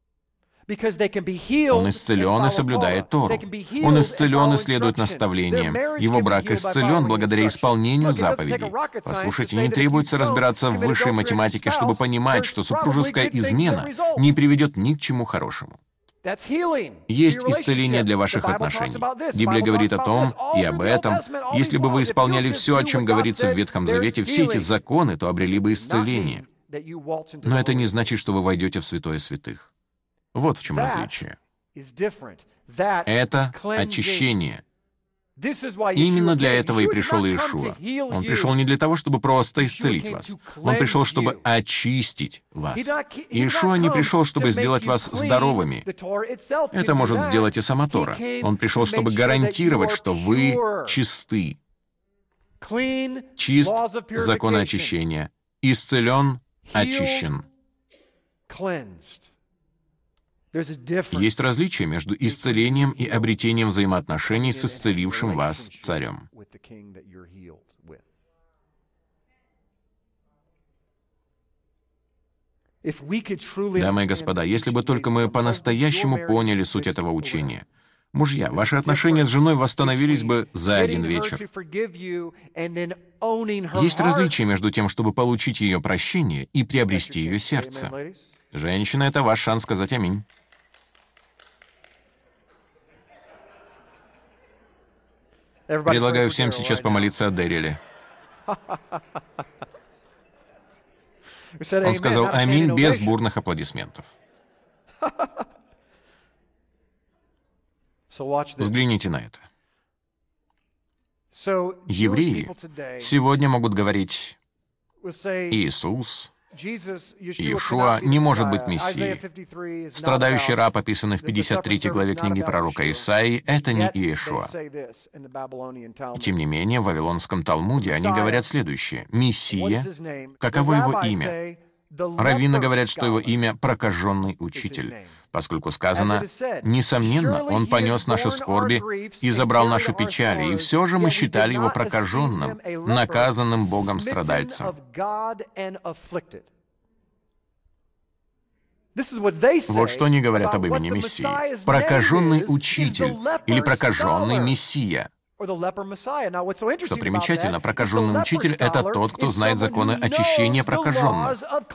Он исцелен и соблюдает Тору. Он исцелен и следует наставлениям. Его брак исцелен благодаря исполнению заповедей. Послушайте, не требуется разбираться в высшей математике, чтобы понимать, что супружеская измена не приведет ни к чему хорошему. Есть исцеление для ваших отношений. Библия говорит о том и об этом. Если бы вы исполняли все, о чем говорится в Ветхом Завете, все эти законы, то обрели бы исцеление. Но это не значит, что вы войдете в святое святых. Вот в чем различие. Это очищение. Именно для этого и пришел Иешуа. Он пришел не для того, чтобы просто исцелить вас. Он пришел, чтобы очистить вас. Иешуа не пришел, чтобы сделать вас здоровыми. Это может сделать и сама Тора. Он пришел, чтобы гарантировать, что вы чисты. Чист — закон очищения. Исцелен, очищен. Есть различие между исцелением и обретением взаимоотношений с исцелившим вас царем. Дамы и господа, если бы только мы по-настоящему поняли суть этого учения, мужья, ваши отношения с женой восстановились бы за один вечер. Есть различие между тем, чтобы получить ее прощение и приобрести ее сердце. Женщина, это ваш шанс сказать аминь. Предлагаю всем сейчас помолиться о Дэриле. Он сказал аминь без бурных аплодисментов. Взгляните на это. Евреи сегодня могут говорить: Иисус, Иешуа не может быть Мессией. Страдающий раб, описанный в 53 главе книги пророка Исаии, это не Иешуа. И тем не менее, в Вавилонском Талмуде они говорят следующее: Мессия, каково его имя? Раввины говорят, что его имя — прокаженный учитель, поскольку сказано: «Несомненно, он понес наши скорби и забрал наши печали, и все же мы считали его прокаженным, наказанным Богом страдальцем». Вот что они говорят об имени Мессии. Прокаженный учитель или прокаженный Мессия. Что примечательно, прокаженный учитель — это тот, кто знает законы очищения прокаженных.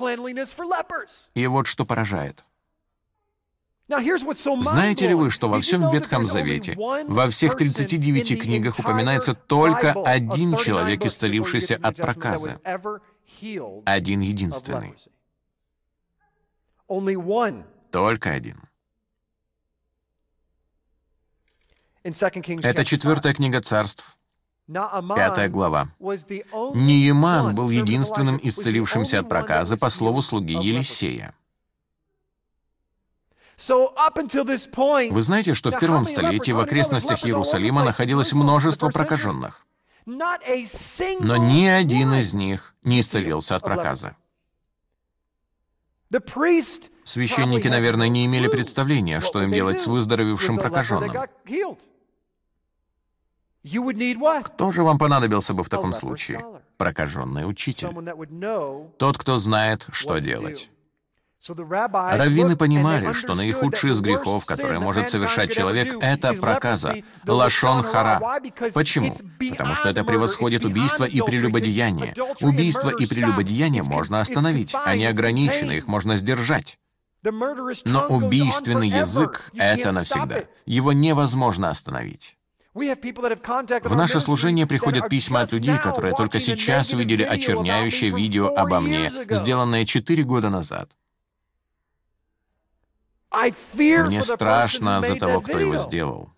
И вот что поражает. Знаете ли вы, что во всем Ветхом Завете, во всех 39 книгах упоминается только один человек, исцелившийся от проказы? Один единственный. Только один. Это 4 книга Царств, 5 глава. Нееман был единственным исцелившимся от проказы по слову слуги Елисея. Вы знаете, что в первом столетии в окрестностях Иерусалима находилось множество прокаженных, но ни один из них не исцелился от проказы. Священники, наверное, не имели представления, что им делать с выздоровевшим прокаженным. Кто же вам понадобился бы в таком случае? Прокаженный учитель. Тот, кто знает, что делать. Раввины понимали, что наихудший из грехов, которые может совершать человек, это проказа, лашон хара. Почему? Потому что это превосходит убийство и прелюбодеяние. Убийство и прелюбодеяние можно остановить, они ограничены, их можно сдержать. Но убийственный язык — это навсегда. Его невозможно остановить. В наше служение приходят письма от людей, которые только сейчас увидели очерняющее видео обо мне, сделанное 4 года назад. Мне страшно за того, кто его сделал.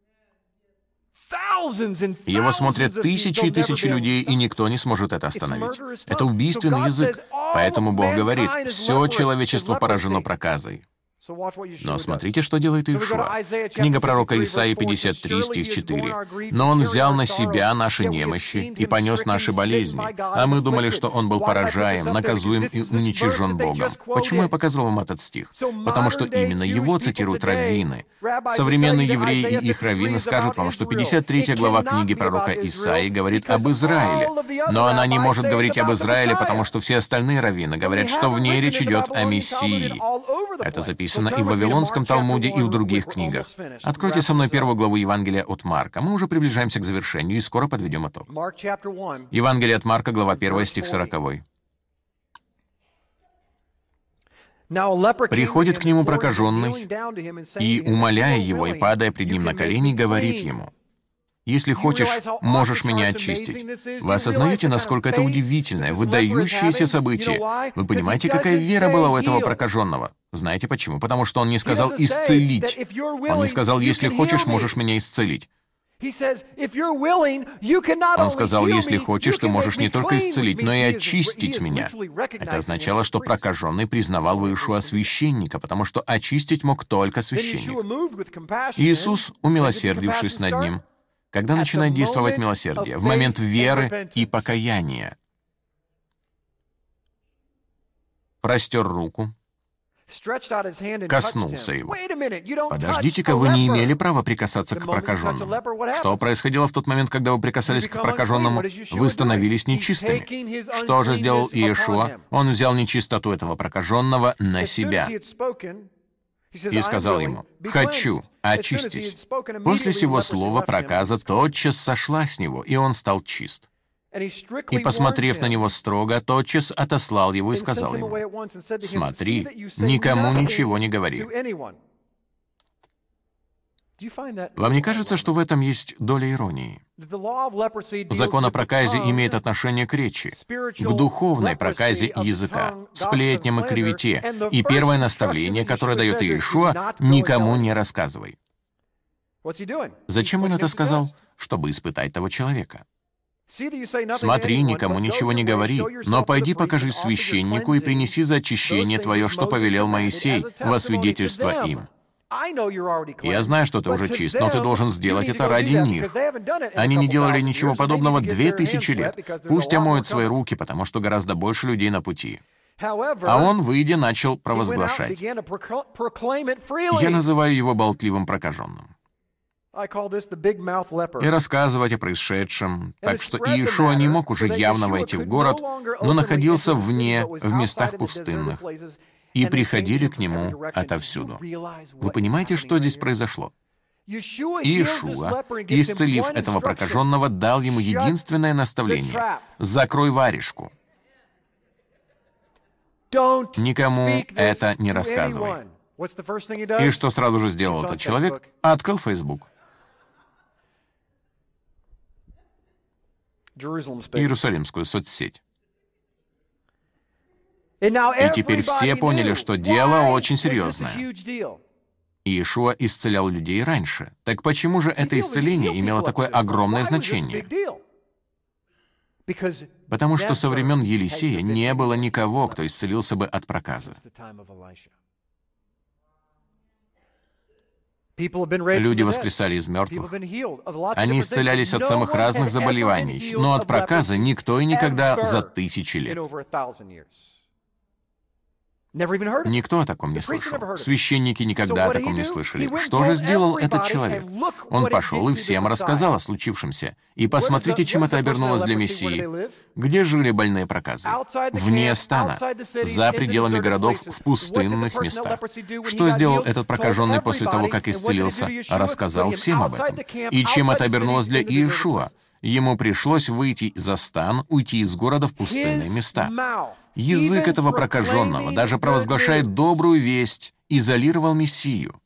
Его смотрят тысячи и тысячи людей, и никто не сможет это остановить. Это убийственный язык. Поэтому Бог говорит, все человечество поражено проказой. Но смотрите, что делает Иешуа. Книга пророка Исаии 53, стих 4. «Но Он взял на себя наши немощи и понес наши болезни, а мы думали, что Он был поражаем, наказуем и уничижен Богом». Почему я показал вам этот стих? Потому что именно его цитируют раввины. Современные евреи и их раввины скажут вам, что 53 глава книги пророка Исаии говорит об Израиле. Но она не может говорить об Израиле, потому что все остальные раввины говорят, что в ней речь идет о Мессии. Это записано и в Вавилонском Талмуде, и в других книгах. Откройте со мной 1 главу Евангелия от Марка. Мы уже приближаемся к завершению и скоро подведем итог. Евангелие от Марка, глава 1, стих 40. «Приходит к нему прокаженный, и, умоляя его, и падая пред ним на колени, говорит ему: „Если хочешь, можешь меня очистить“». Вы осознаете, насколько это удивительное, выдающееся событие? Вы понимаете, какая вера была у этого прокаженного? Знаете почему? Потому что он не сказал «исцелить». Он не сказал «если хочешь, можешь меня исцелить». Он сказал, если хочешь, ты можешь не только исцелить, но и очистить меня. Это означало, что прокаженный признавал в Иешуа священника, потому что очистить мог только священник. Иисус, умилосердившись над ним, когда начинает действовать милосердие? В момент веры и покаяния. Простер руку, коснулся его. Подождите-ка, вы не имели права прикасаться к прокаженному. Что происходило в тот момент, когда вы прикасались к прокаженному? Вы становились нечистыми. Что же сделал Иешуа? Он взял нечистоту этого прокаженного на себя и сказал ему: «Хочу, очистись». После сего слова проказа тотчас сошла с него, и он стал чист. И, посмотрев на него строго, тотчас отослал его и сказал ему: «Смотри, никому ничего не говори». Вам не кажется, что в этом есть доля иронии? Закон о проказе имеет отношение к речи, к духовной проказе языка, сплетням и клевете. И первое наставление, которое дает Иешуа: «Никому не рассказывай». Зачем он это сказал? Чтобы испытать того человека. «Смотри, никому ничего не говори, но пойди покажи священнику и принеси за очищение твое, что повелел Моисей, во свидетельство им». Я знаю, что ты уже чист, но ты должен сделать это ради них. Они не делали ничего подобного 2000 лет. Пусть омоют свои руки, потому что гораздо больше людей на пути. А он, выйдя, начал провозглашать. Я называю его болтливым прокаженным. И рассказывать о происшедшем. Так что Иешуа не мог уже явно войти в город, но находился вне, в местах пустынных. И приходили к нему отовсюду. Вы понимаете, что здесь произошло? Иешуа, исцелив этого прокаженного, дал ему единственное наставление: «Закрой варежку». Никому это не рассказывай. И что сразу же сделал этот человек? Открыл Facebook. Иерусалимскую соцсеть. И теперь все поняли, что дело очень серьезное. Иешуа исцелял людей раньше. Так почему же это исцеление имело такое огромное значение? Потому что со времен Елисея не было никого, кто исцелился бы от проказа. Люди воскресали из мертвых. Они исцелялись от самых разных заболеваний, но от проказа никто и никогда за 1000 лет. Никто о таком не слышал. Священники никогда о таком не слышали. Что же сделал этот человек? Он пошел и всем рассказал о случившемся. И посмотрите, чем это обернулось для Мессии. Где жили больные проказы? Вне стана, за пределами городов, в пустынных местах. Что сделал этот прокаженный после того, как исцелился? Рассказал всем об этом. И чем это обернулось для Иешуа? Ему пришлось выйти за стан, уйти из города в пустынные места. Язык этого прокаженного даже провозглашает добрую весть, изолировал Мессию.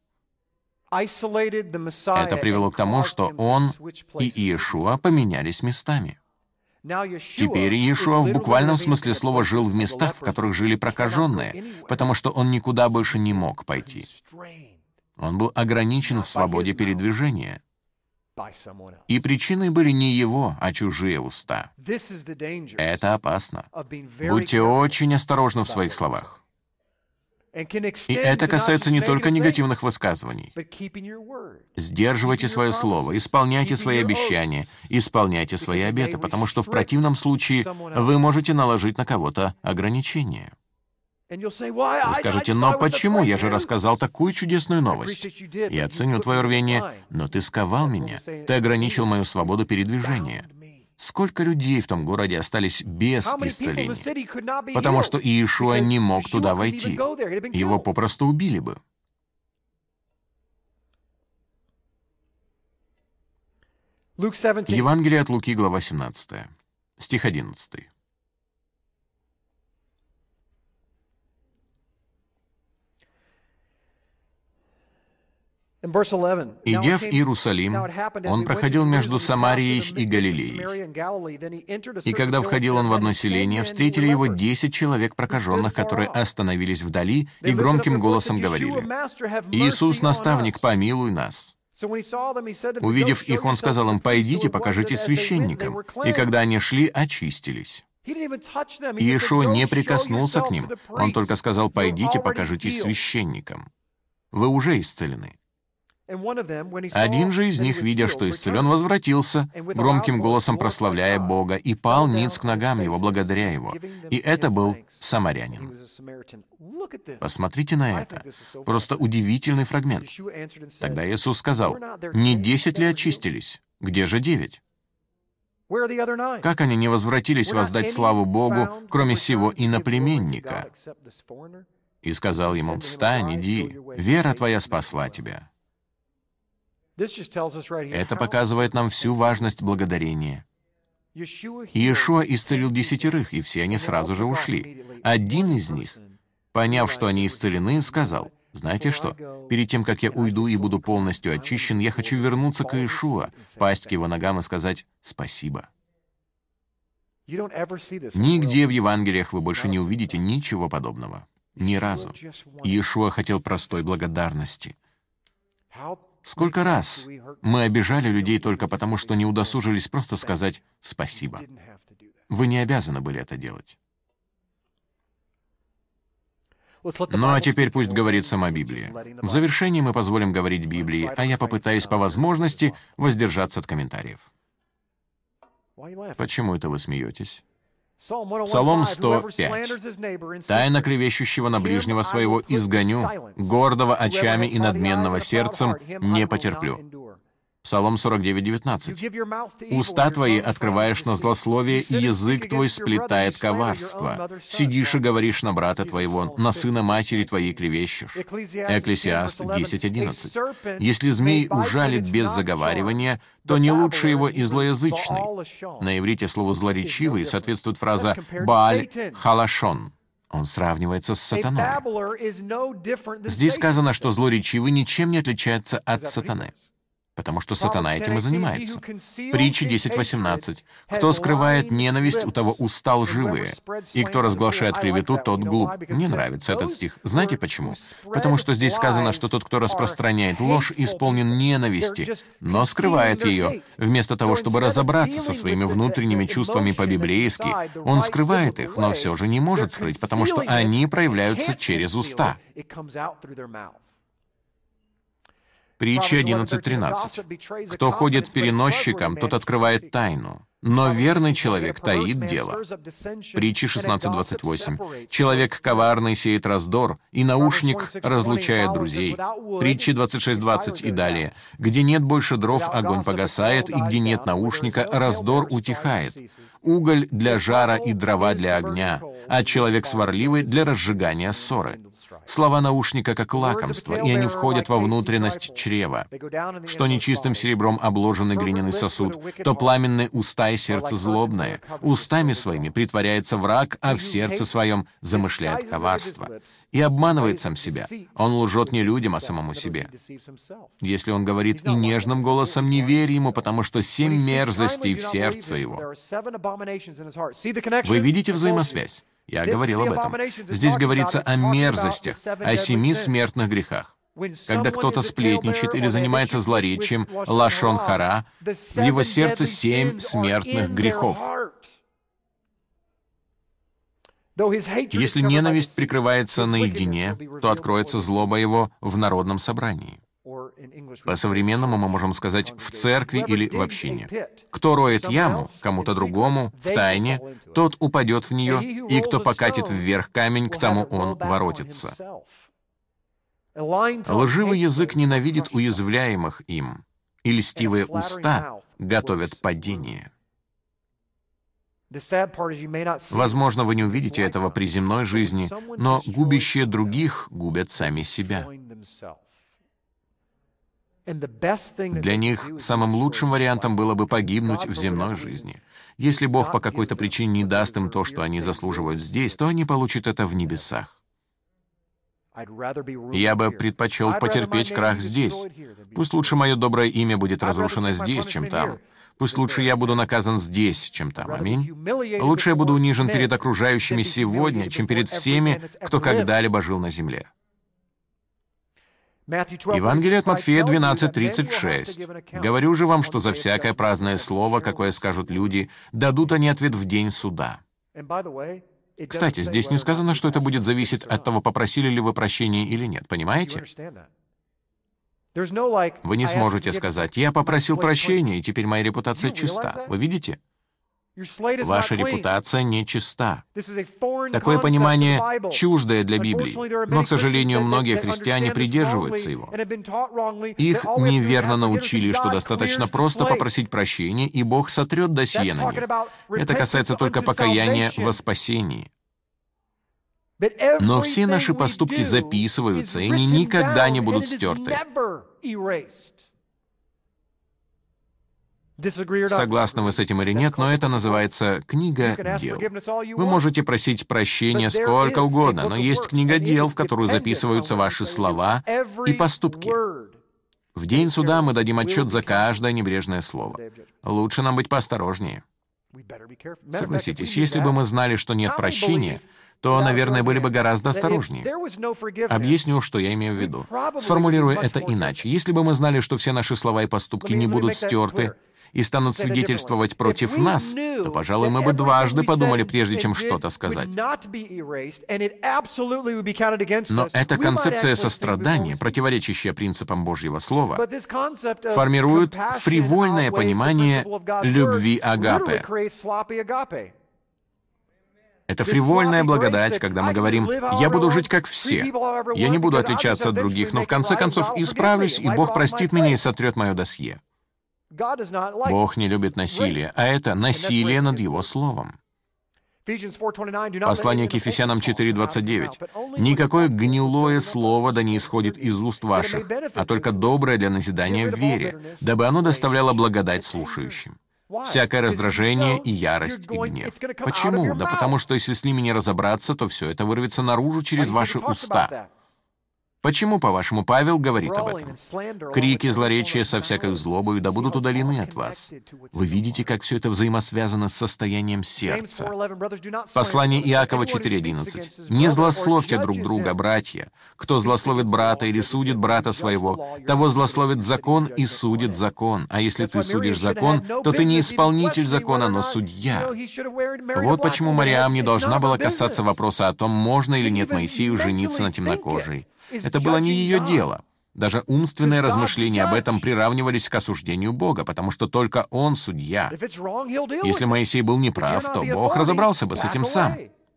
Это привело к тому, что он и Иешуа поменялись местами. Теперь Иешуа в буквальном смысле слова жил в местах, в которых жили прокаженные, потому что он никуда больше не мог пойти. Он был ограничен в свободе передвижения. И причиной были не его, а чужие уста. Это опасно. Будьте очень осторожны в своих словах. И это касается не только негативных высказываний. Сдерживайте свое слово, исполняйте свои обещания, исполняйте свои обеты, потому что в противном случае вы можете наложить на кого-то ограничения. Вы скажете: «Но почему? Я же рассказал такую чудесную новость. Я ценю твое рвение, но ты сковал меня, ты ограничил мою свободу передвижения». Сколько людей в том городе остались без исцеления, потому что Иешуа не мог туда войти. Его попросту убили бы. Евангелие от Луки, глава 17, стих 11. «Идя в Иерусалим, он проходил между Самарией и Галилеей. И когда входил он в одно селение, встретили его 10 человек прокаженных, которые остановились вдали и громким голосом говорили: „Иисус, наставник, помилуй нас“. Увидев их, он сказал им: „Пойдите, покажитесь священникам“. И когда они шли, очистились. Иешуа не прикоснулся к ним, он только сказал: „Пойдите, покажитесь священникам“. Вы уже исцелены. Один же из них, видя, что исцелен, возвратился, громким голосом прославляя Бога, и пал ниц к ногам его, благодаря его. И это был самарянин. Посмотрите на это. Просто удивительный фрагмент. Тогда Иисус сказал: «Не 10 ли очистились? Где же 9? Как они не возвратились воздать славу Богу, кроме сего иноплеменника?» И сказал ему: «Встань, иди, вера твоя спасла тебя». Это показывает нам всю важность благодарения. Иешуа исцелил 10, и все они сразу же ушли. Один из них, поняв, что они исцелены, сказал: «Знаете что? Перед тем, как я уйду и буду полностью очищен, я хочу вернуться к Иешуа, пасть к его ногам и сказать спасибо». Нигде в Евангелиях вы больше не увидите ничего подобного. Ни разу. Иешуа хотел простой благодарности. Сколько раз мы обижали людей только потому, что не удосужились просто сказать «спасибо». Вы не обязаны были это делать. Ну а теперь пусть говорит сама Библия. В завершении мы позволим говорить Библии, а я попытаюсь по возможности воздержаться от комментариев. Почему это вы смеетесь? Псалом 105. «Тайно клевещущего на ближнего своего изгоню, гордого очами и надменного сердцем не потерплю». Псалом 49, 19. «Уста твои открываешь на злословие, и язык твой сплетает коварство. Сидишь и говоришь на брата твоего, на сына матери твоей клевещешь». Экклесиаст 10, 11. «Если змей ужалит без заговаривания, то не лучше его и злоязычный». На иврите слову «злоречивый» соответствует фраза «Бааль халашон». Он сравнивается с сатаной. Здесь сказано, что злоречивый ничем не отличается от сатаны, потому что сатана этим и занимается. Притча 10:18. «Кто скрывает ненависть, у того уста лживые, и кто разглашает клевету, тот глуп». Мне нравится этот стих. Знаете почему? Потому что здесь сказано, что тот, кто распространяет ложь, исполнен ненависти, но скрывает ее. Вместо того, чтобы разобраться со своими внутренними чувствами по-библейски, он скрывает их, но все же не может скрыть, потому что они проявляются через уста. Притча 11:13. «Кто ходит переносчиком, тот открывает тайну, но верный человек таит дело. Притчи 16:28. Человек коварный сеет раздор, и наушник разлучает друзей. Притчи 26:20 и далее. Где нет больше дров, огонь погасает, и где нет наушника, раздор утихает. Уголь для жара и дрова для огня, а человек сварливый для разжигания ссоры. Слова наушника как лакомство, и они входят во внутренность чрева. Что нечистым серебром обложенный глиняный сосуд, то пламенные уста и сердце злобное. Устами своими притворяется враг, а в сердце своем замышляет коварство. И обманывает сам себя. Он лжет не людям, а самому себе. Если он говорит и нежным голосом, не верь ему, потому что 7 мерзостей в сердце его. Вы видите взаимосвязь? Я говорил об этом. Здесь говорится о мерзостях, о 7 смертных грехах. Когда кто-то сплетничает или занимается злоречием, лашон хара, в его сердце 7 смертных грехов. Если ненависть прикрывается наедине, то откроется злоба его в народном собрании. По-современному мы можем сказать в церкви или в общине. Кто роет яму кому-то другому в тайне, тот упадет в нее, и кто покатит вверх камень, к тому он воротится. Лживый язык ненавидит уязвляемых им, и льстивые уста готовят падение. Возможно, вы не увидите этого при земной жизни, но губящие других губят сами себя. Для них самым лучшим вариантом было бы погибнуть в земной жизни. Если Бог по какой-то причине не даст им то, что они заслуживают здесь, то они получат это в небесах. Я бы предпочел потерпеть крах здесь. Пусть лучше мое доброе имя будет разрушено здесь, чем там. Пусть лучше я буду наказан здесь, чем там. Аминь. Лучше я буду унижен перед окружающими сегодня, чем перед всеми, кто когда-либо жил на земле. Евангелие от Матфея 12:36. «Говорю же вам, что за всякое праздное слово, какое скажут люди, дадут они ответ в день суда». Кстати, здесь не сказано, что это будет зависеть от того, попросили ли вы прощения или нет. Понимаете? Вы не сможете сказать: «Я попросил прощения, и теперь моя репутация чиста». Вы видите? Ваша репутация не чиста. Такое понимание чуждое для Библии, но, к сожалению, многие христиане придерживаются его. Их неверно научили, что достаточно просто попросить прощения, и Бог сотрет досье на них. Это касается только покаяния во спасении. Но все наши поступки записываются, и они никогда не будут стерты. Согласны вы с этим или нет, но это называется книга дел. Вы можете просить прощения сколько угодно, но есть книга дел, в которую записываются ваши слова и поступки. В день суда мы дадим отчет за каждое небрежное слово. Лучше нам быть поосторожнее. Согласитесь, если бы мы знали, что нет прощения, то, наверное, были бы гораздо осторожнее. Объясню, что я имею в виду. Сформулирую это иначе. Если бы мы знали, что все наши слова и поступки не будут стерты и станут свидетельствовать против нас, то, пожалуй, мы бы дважды подумали, прежде чем что-то сказать. Но эта концепция сострадания, противоречащая принципам Божьего Слова, формирует фривольное понимание любви агапе. Это фривольная благодать, когда мы говорим: «Я буду жить как все, я не буду отличаться от других, но в конце концов исправлюсь, и Бог простит меня и сотрет мое досье». Бог не любит насилие, а это насилие над Его Словом. Послание к Ефесянам 4:29. «Никакое гнилое слово да не исходит из уст ваших, а только доброе для назидания в вере, дабы оно доставляло благодать слушающим». Всякое раздражение и ярость и гнев. Почему? Да потому что если с ними не разобраться, то все это вырвется наружу через ваши уста. Почему, по-вашему, Павел говорит об этом? «Крики злоречия со всякой злобою да будут удалены от вас». Вы видите, как все это взаимосвязано с состоянием сердца. Послание Иакова 4:11. «Не злословьте друг друга, братья. Кто злословит брата или судит брата своего, того злословит закон и судит закон. А если ты судишь закон, то ты не исполнитель закона, но судья». Вот почему Мариам не должна была касаться вопроса о том, можно или нет Моисею жениться на темнокожей. Это было не ее дело. Даже умственные размышления об этом приравнивались к осуждению Бога, потому что только Он судья. Если Моисей был неправ, то Бог разобрался бы с этим сам.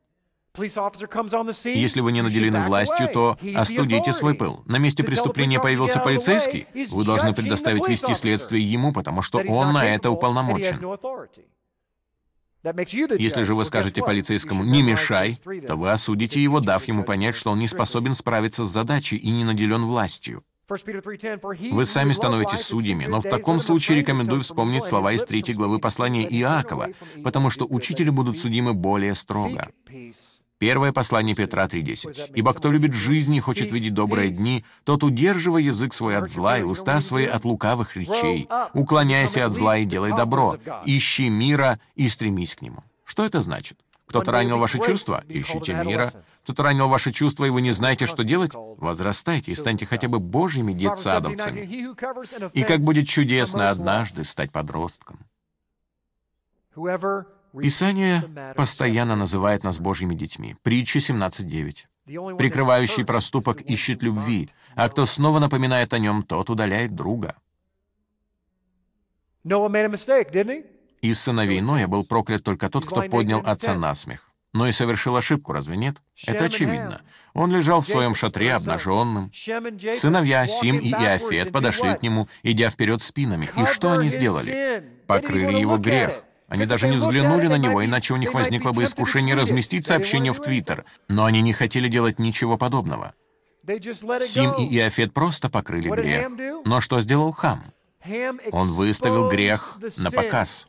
Если вы не наделены властью, то остудите свой пыл. На месте преступления появился полицейский, вы должны предоставить вести следствие ему, потому что он на это уполномочен. Если же вы скажете полицейскому «не мешай», то вы осудите его, дав ему понять, что он не способен справиться с задачей и не наделен властью. Вы сами становитесь судьями, но в таком случае рекомендую вспомнить слова из 3 главы послания Иакова, потому что учители будут судимы более строго. Первое послание Петра 3:10. «Ибо кто любит жизнь и хочет видеть добрые дни, тот удерживай язык свой от зла и уста свои от лукавых речей. Уклоняйся от зла и делай добро. Ищи мира и стремись к нему». Что это значит? Кто-то ранил ваши чувства? Ищите мира. Кто-то ранил ваши чувства, и вы не знаете, что делать? Возрастайте и станьте хотя бы божьими детсадовцами. И как будет чудесно однажды стать подростком. Писание постоянно называет нас Божьими детьми. Притча 17:9. «Прикрывающий проступок ищет любви, а кто снова напоминает о нем, тот удаляет друга». Из сыновей Ноя был проклят только тот, кто поднял отца на смех. Ной совершил ошибку, разве нет? Это очевидно. Он лежал в своем шатре обнаженным. Сыновья Сим и Иафет подошли к нему, идя вперед спинами. И что они сделали? Покрыли его грех. Они даже не взглянули на него, иначе у них возникло бы искушение разместить сообщение в Твиттер. Но они не хотели делать ничего подобного. Сим и Иафет просто покрыли грех. Но что сделал Хам? Он выставил грех на показ.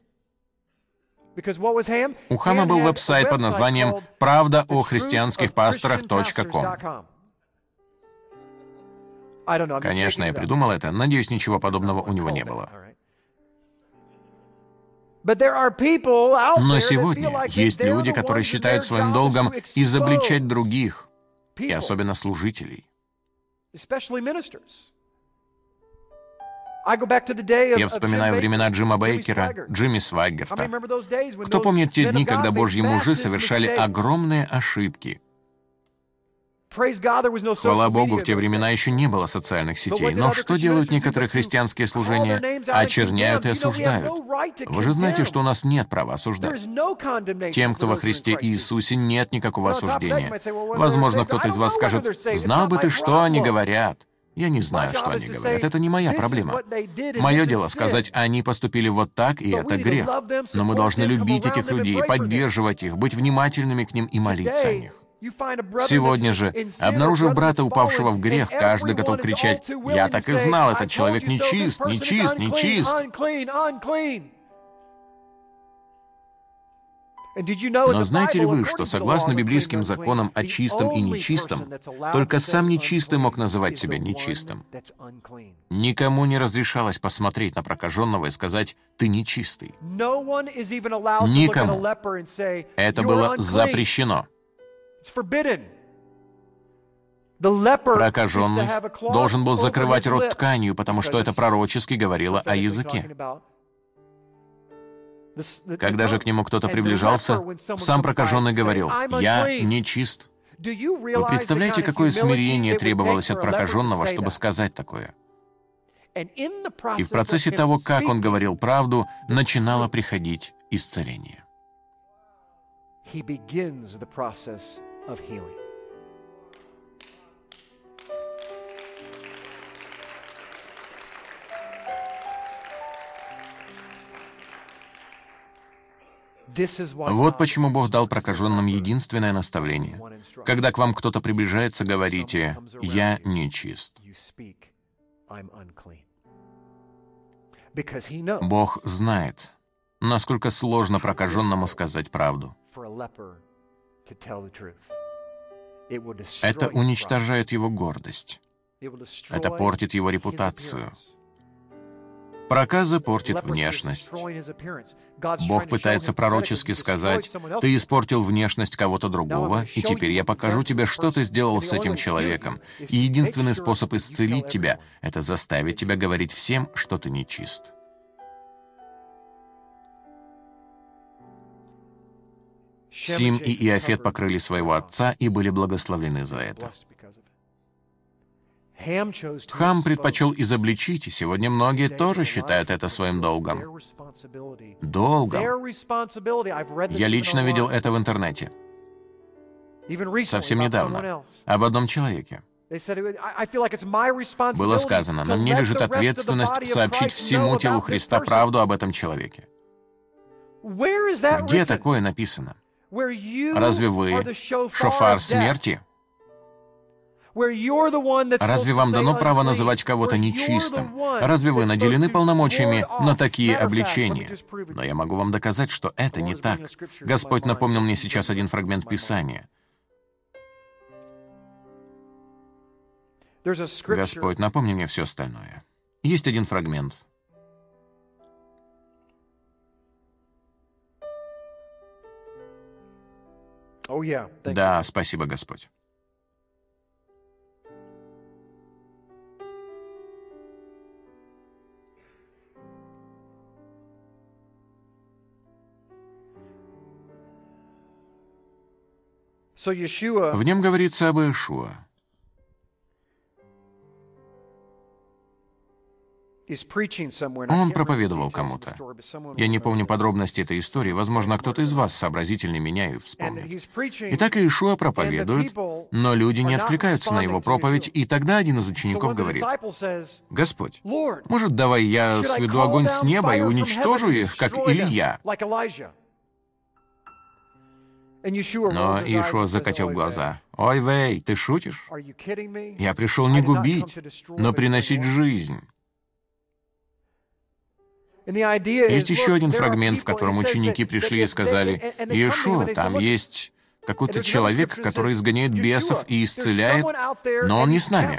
У Хама был веб-сайт под названием «Правда о христианских пасторах.ком». Конечно, я придумал это. Надеюсь, ничего подобного у него не было. Но сегодня есть люди, которые считают своим долгом изобличать других, и особенно служителей. Я вспоминаю времена Джима Бейкера, Джимми Сваггерта. Кто помнит те дни, когда Божьи мужи совершали огромные ошибки? Хвала Богу, в те времена еще не было социальных сетей. Но что делают некоторые христианские служения? Очерняют и осуждают. Вы же знаете, что у нас нет права осуждать. Тем, кто во Христе Иисусе, нет никакого осуждения. Возможно, кто-то из вас скажет: «Знал бы ты, что они говорят». Я не знаю, что они говорят. Это не моя проблема. Мое дело сказать, они поступили вот так, и это грех. Но мы должны любить этих людей, поддерживать их, быть внимательными к ним и молиться о них. Сегодня же, обнаружив брата, упавшего в грех, каждый готов кричать: «Я так и знал, этот человек нечист, нечист, нечист». Но знаете ли вы, что согласно библейским законам о чистом и нечистом, только сам нечистый мог называть себя нечистым? Никому не разрешалось посмотреть на прокаженного и сказать: «Ты нечистый». Никому. Это было запрещено. Прокаженный должен был закрывать рот тканью, потому что это пророчески говорило о языке. Когда же к нему кто-то приближался, сам прокаженный говорил: «Я нечист». Вы представляете, какое смирение требовалось от прокаженного, чтобы сказать такое? И в процессе того, как он говорил правду, начинало приходить исцеление. Вот почему Бог дал прокаженным единственное наставление. Когда к вам кто-то приближается, говорите: «Я нечист». Бог знает, насколько сложно прокаженному сказать правду. Это уничтожает его гордость. Это портит его репутацию. Проказа портит внешность. Бог пытается пророчески сказать: «Ты испортил внешность кого-то другого, и теперь я покажу тебе, что ты сделал с этим человеком. И единственный способ исцелить тебя — это заставить тебя говорить всем, что ты нечист». Сим и Иафет покрыли своего отца и были благословлены за это. Хам предпочел изобличить, и сегодня многие тоже считают это своим долгом. Долгом. Я лично видел это в интернете. Совсем недавно. Об одном человеке. Было сказано, на мне лежит ответственность сообщить всему телу Христа правду об этом человеке. Где такое написано? Разве вы шофар смерти? Разве вам дано право называть кого-то нечистым? Разве вы наделены полномочиями на такие обличения? Но я могу вам доказать, что это не так. Господь напомнил мне сейчас один фрагмент Писания. Господь, напомни мне все остальное. Есть один фрагмент. Да, спасибо, Господь. В нем говорится об Иешуа. Он проповедовал кому-то. Я не помню подробности этой истории, возможно, кто-то из вас сообразительнее меня и вспомнит. Итак, Иешуа проповедует, но люди не откликаются на его проповедь, и тогда один из учеников говорит: «Господь, может, давай я сведу огонь с неба и уничтожу их, как Илия?» Но Иешуа закатил глаза. «Ой, вей, ты шутишь? Я пришел не губить, но приносить жизнь». Есть еще один фрагмент, в котором ученики пришли и сказали: «Иешуа, там есть какой-то человек, который изгоняет бесов и исцеляет, но он не с нами».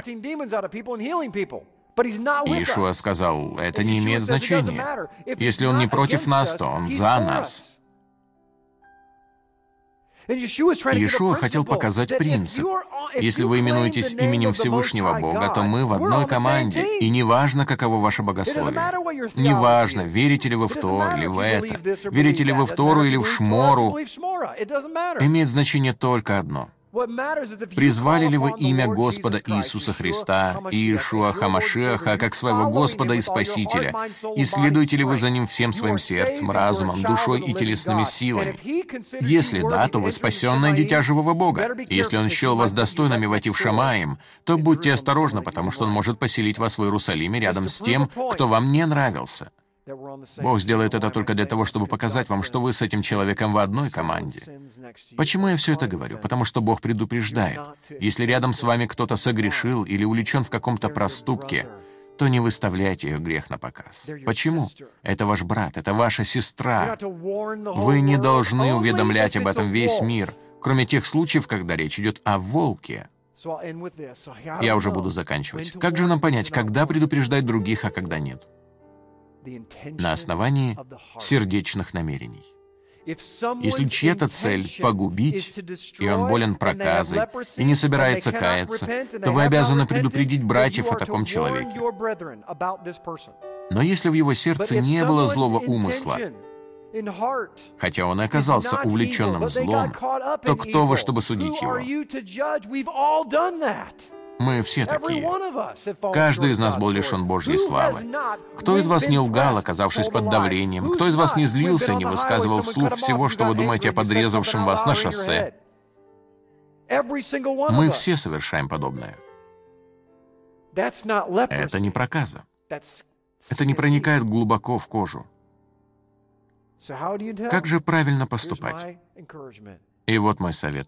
Иешуа сказал: «Это не имеет значения. Если он не против нас, то он за нас». Иешуа хотел показать принцип. Если вы именуетесь именем Всевышнего Бога, то мы в одной команде, и неважно, каково ваше богословие. Неважно, верите ли вы в то или в это, верите ли вы в Тору или в Шмору, имеет значение только одно. Призвали ли вы имя Господа Иисуса Христа, Иешуа Хамашиаха, как своего Господа и Спасителя? И следуете ли вы за Ним всем своим сердцем, разумом, душой и телесными силами? Если да, то вы спасенное дитя живого Бога. И если Он счел вас достойными войти в Шамаим, то будьте осторожны, потому что Он может поселить вас в Иерусалиме рядом с тем, кто вам не нравился. Бог сделает это только для того, чтобы показать вам, что вы с этим человеком в одной команде. Почему я все это говорю? Потому что Бог предупреждает. Если рядом с вами кто-то согрешил или увлечен в каком-то проступке, то не выставляйте их грех на показ. Почему? Это ваш брат, это ваша сестра. Вы не должны уведомлять об этом весь мир, кроме тех случаев, когда речь идет о волке. Я уже буду заканчивать. Как же нам понять, когда предупреждать других, а когда нет? На основании сердечных намерений. Если чья-то цель — погубить, и он болен проказой, и не собирается каяться, то вы обязаны предупредить братьев о таком человеке. Но если в его сердце не было злого умысла, хотя он и оказался увлеченным злом, то кто вы, чтобы судить его? Мы все такие. Каждый из нас был лишен Божьей славы. Кто из вас не лгал, оказавшись под давлением? Кто из вас не злился и не высказывал вслух всего, что вы думаете о подрезавшем вас на шоссе? Мы все совершаем подобное. Это не проказа. Это не проникает глубоко в кожу. Как же правильно поступать? И вот мой совет.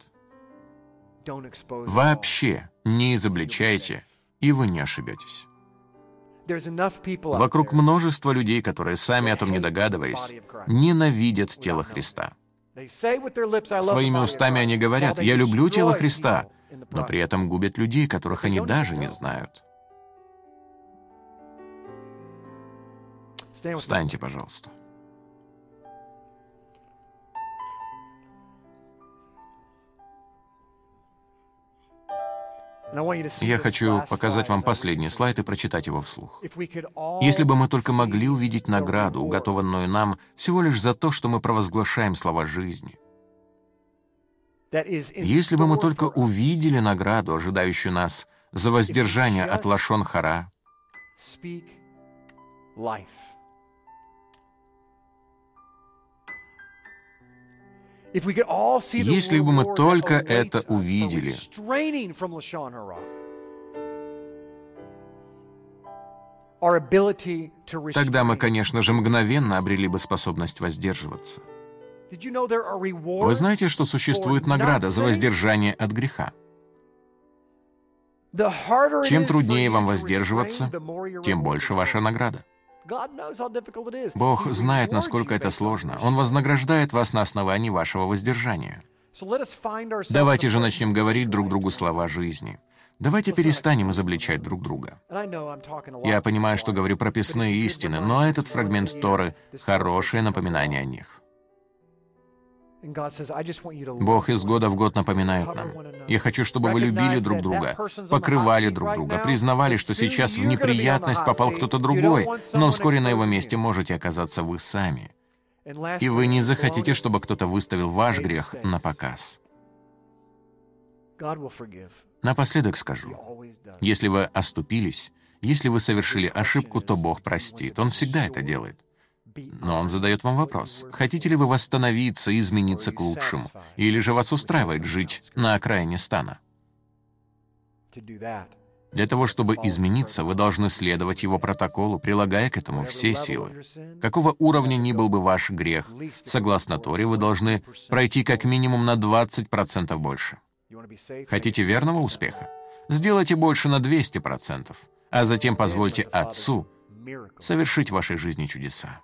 Вообще не изобличайте, и вы не ошибетесь. Вокруг множество людей, которые, сами о том не догадываясь, ненавидят тело Христа. Своими устами они говорят: «Я люблю тело Христа», но при этом губят людей, которых они даже не знают. Встаньте, пожалуйста. Я хочу показать вам последний слайд и прочитать его вслух. Если бы мы только могли увидеть награду, уготованную нам всего лишь за то, что мы провозглашаем слова жизни. Если бы мы только увидели награду, ожидающую нас за воздержание от лашон хара. Если бы мы только это увидели, тогда мы, конечно же, мгновенно обрели бы способность воздерживаться. Вы знаете, что существует награда за воздержание от греха? Чем труднее вам воздерживаться, тем больше ваша награда. Бог знает, насколько это сложно. Он вознаграждает вас на основании вашего воздержания. Давайте же начнем говорить друг другу слова жизни. Давайте перестанем изобличать друг друга. Я понимаю, что говорю прописные истины, но этот фрагмент Торы — хорошее напоминание о них. Бог из года в год напоминает нам: «Я хочу, чтобы вы любили друг друга, покрывали друг друга, признавали, что сейчас в неприятность попал кто-то другой, но вскоре на его месте можете оказаться вы сами. И вы не захотите, чтобы кто-то выставил ваш грех на показ». Напоследок скажу: если вы оступились, если вы совершили ошибку, то Бог простит. Он всегда это делает. Но Он задает вам вопрос: хотите ли вы восстановиться и измениться к лучшему, или же вас устраивает жить на окраине стана? Для того, чтобы измениться, вы должны следовать Его протоколу, прилагая к этому все силы. Какого уровня ни был бы ваш грех, согласно Торе, вы должны пройти как минимум на 20% больше. Хотите верного успеха? Сделайте больше на 200%, а затем позвольте Отцу совершить в вашей жизни чудеса.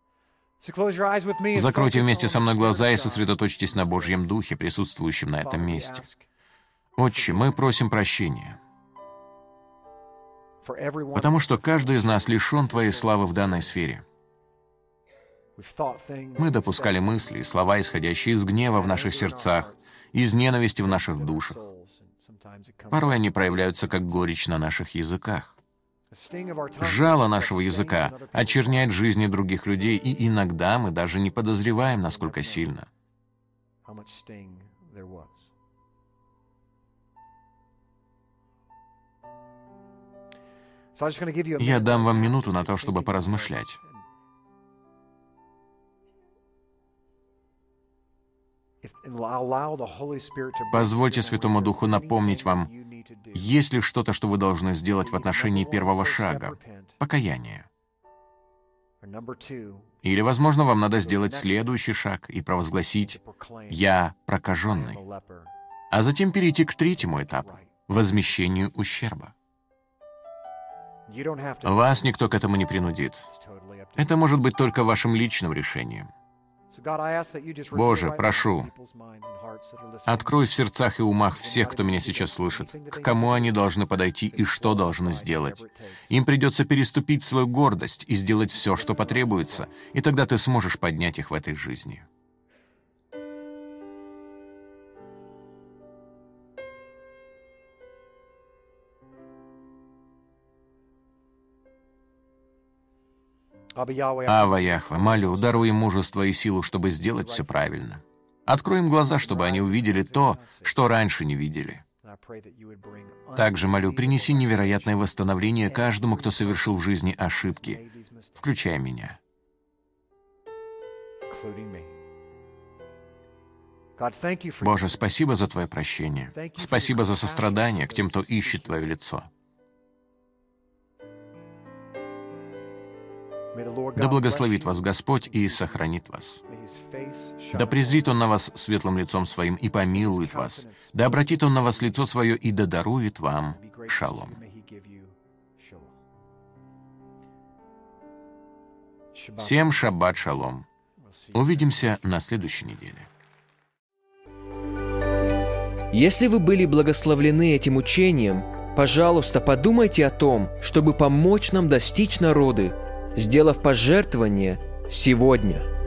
Закройте вместе со мной глаза и сосредоточьтесь на Божьем Духе, присутствующем на этом месте. Отче, мы просим прощения, потому что каждый из нас лишен Твоей славы в данной сфере. Мы допускали мысли и слова, исходящие из гнева в наших сердцах, из ненависти в наших душах. Порой они проявляются как горечь на наших языках. Жало нашего языка очерняет жизни других людей, и иногда мы даже не подозреваем, насколько сильно. Я дам вам минуту на то, чтобы поразмышлять. Позвольте Святому Духу напомнить вам, есть ли что-то, что вы должны сделать в отношении первого шага — покаяния. Или, возможно, вам надо сделать следующий шаг и провозгласить «Я прокаженный», а затем перейти к третьему этапу — возмещению ущерба. Вас никто к этому не принудит. Это может быть только вашим личным решением. Боже, прошу, открой в сердцах и умах всех, кто меня сейчас слышит, к кому они должны подойти и что должны сделать. Им придется переступить свою гордость и сделать все, что потребуется, и тогда ты сможешь поднять их в этой жизни. Ава Яхве, молю, даруй им мужество и силу, чтобы сделать все правильно. Открой им глаза, чтобы они увидели то, что раньше не видели. Также молю, принеси невероятное восстановление каждому, кто совершил в жизни ошибки, включая меня. Боже, спасибо за Твое прощение. Спасибо за сострадание к тем, кто ищет Твое лицо. Да благословит вас Господь и сохранит вас. Да презрит Он на вас светлым лицом Своим и помилует вас. Да обратит Он на вас лицо Свое и да дарует вам шалом. Всем шаббат шалом. Увидимся на следующей неделе. Если вы были благословлены этим учением, пожалуйста, подумайте о том, чтобы помочь нам достичь народы, сделав пожертвование сегодня.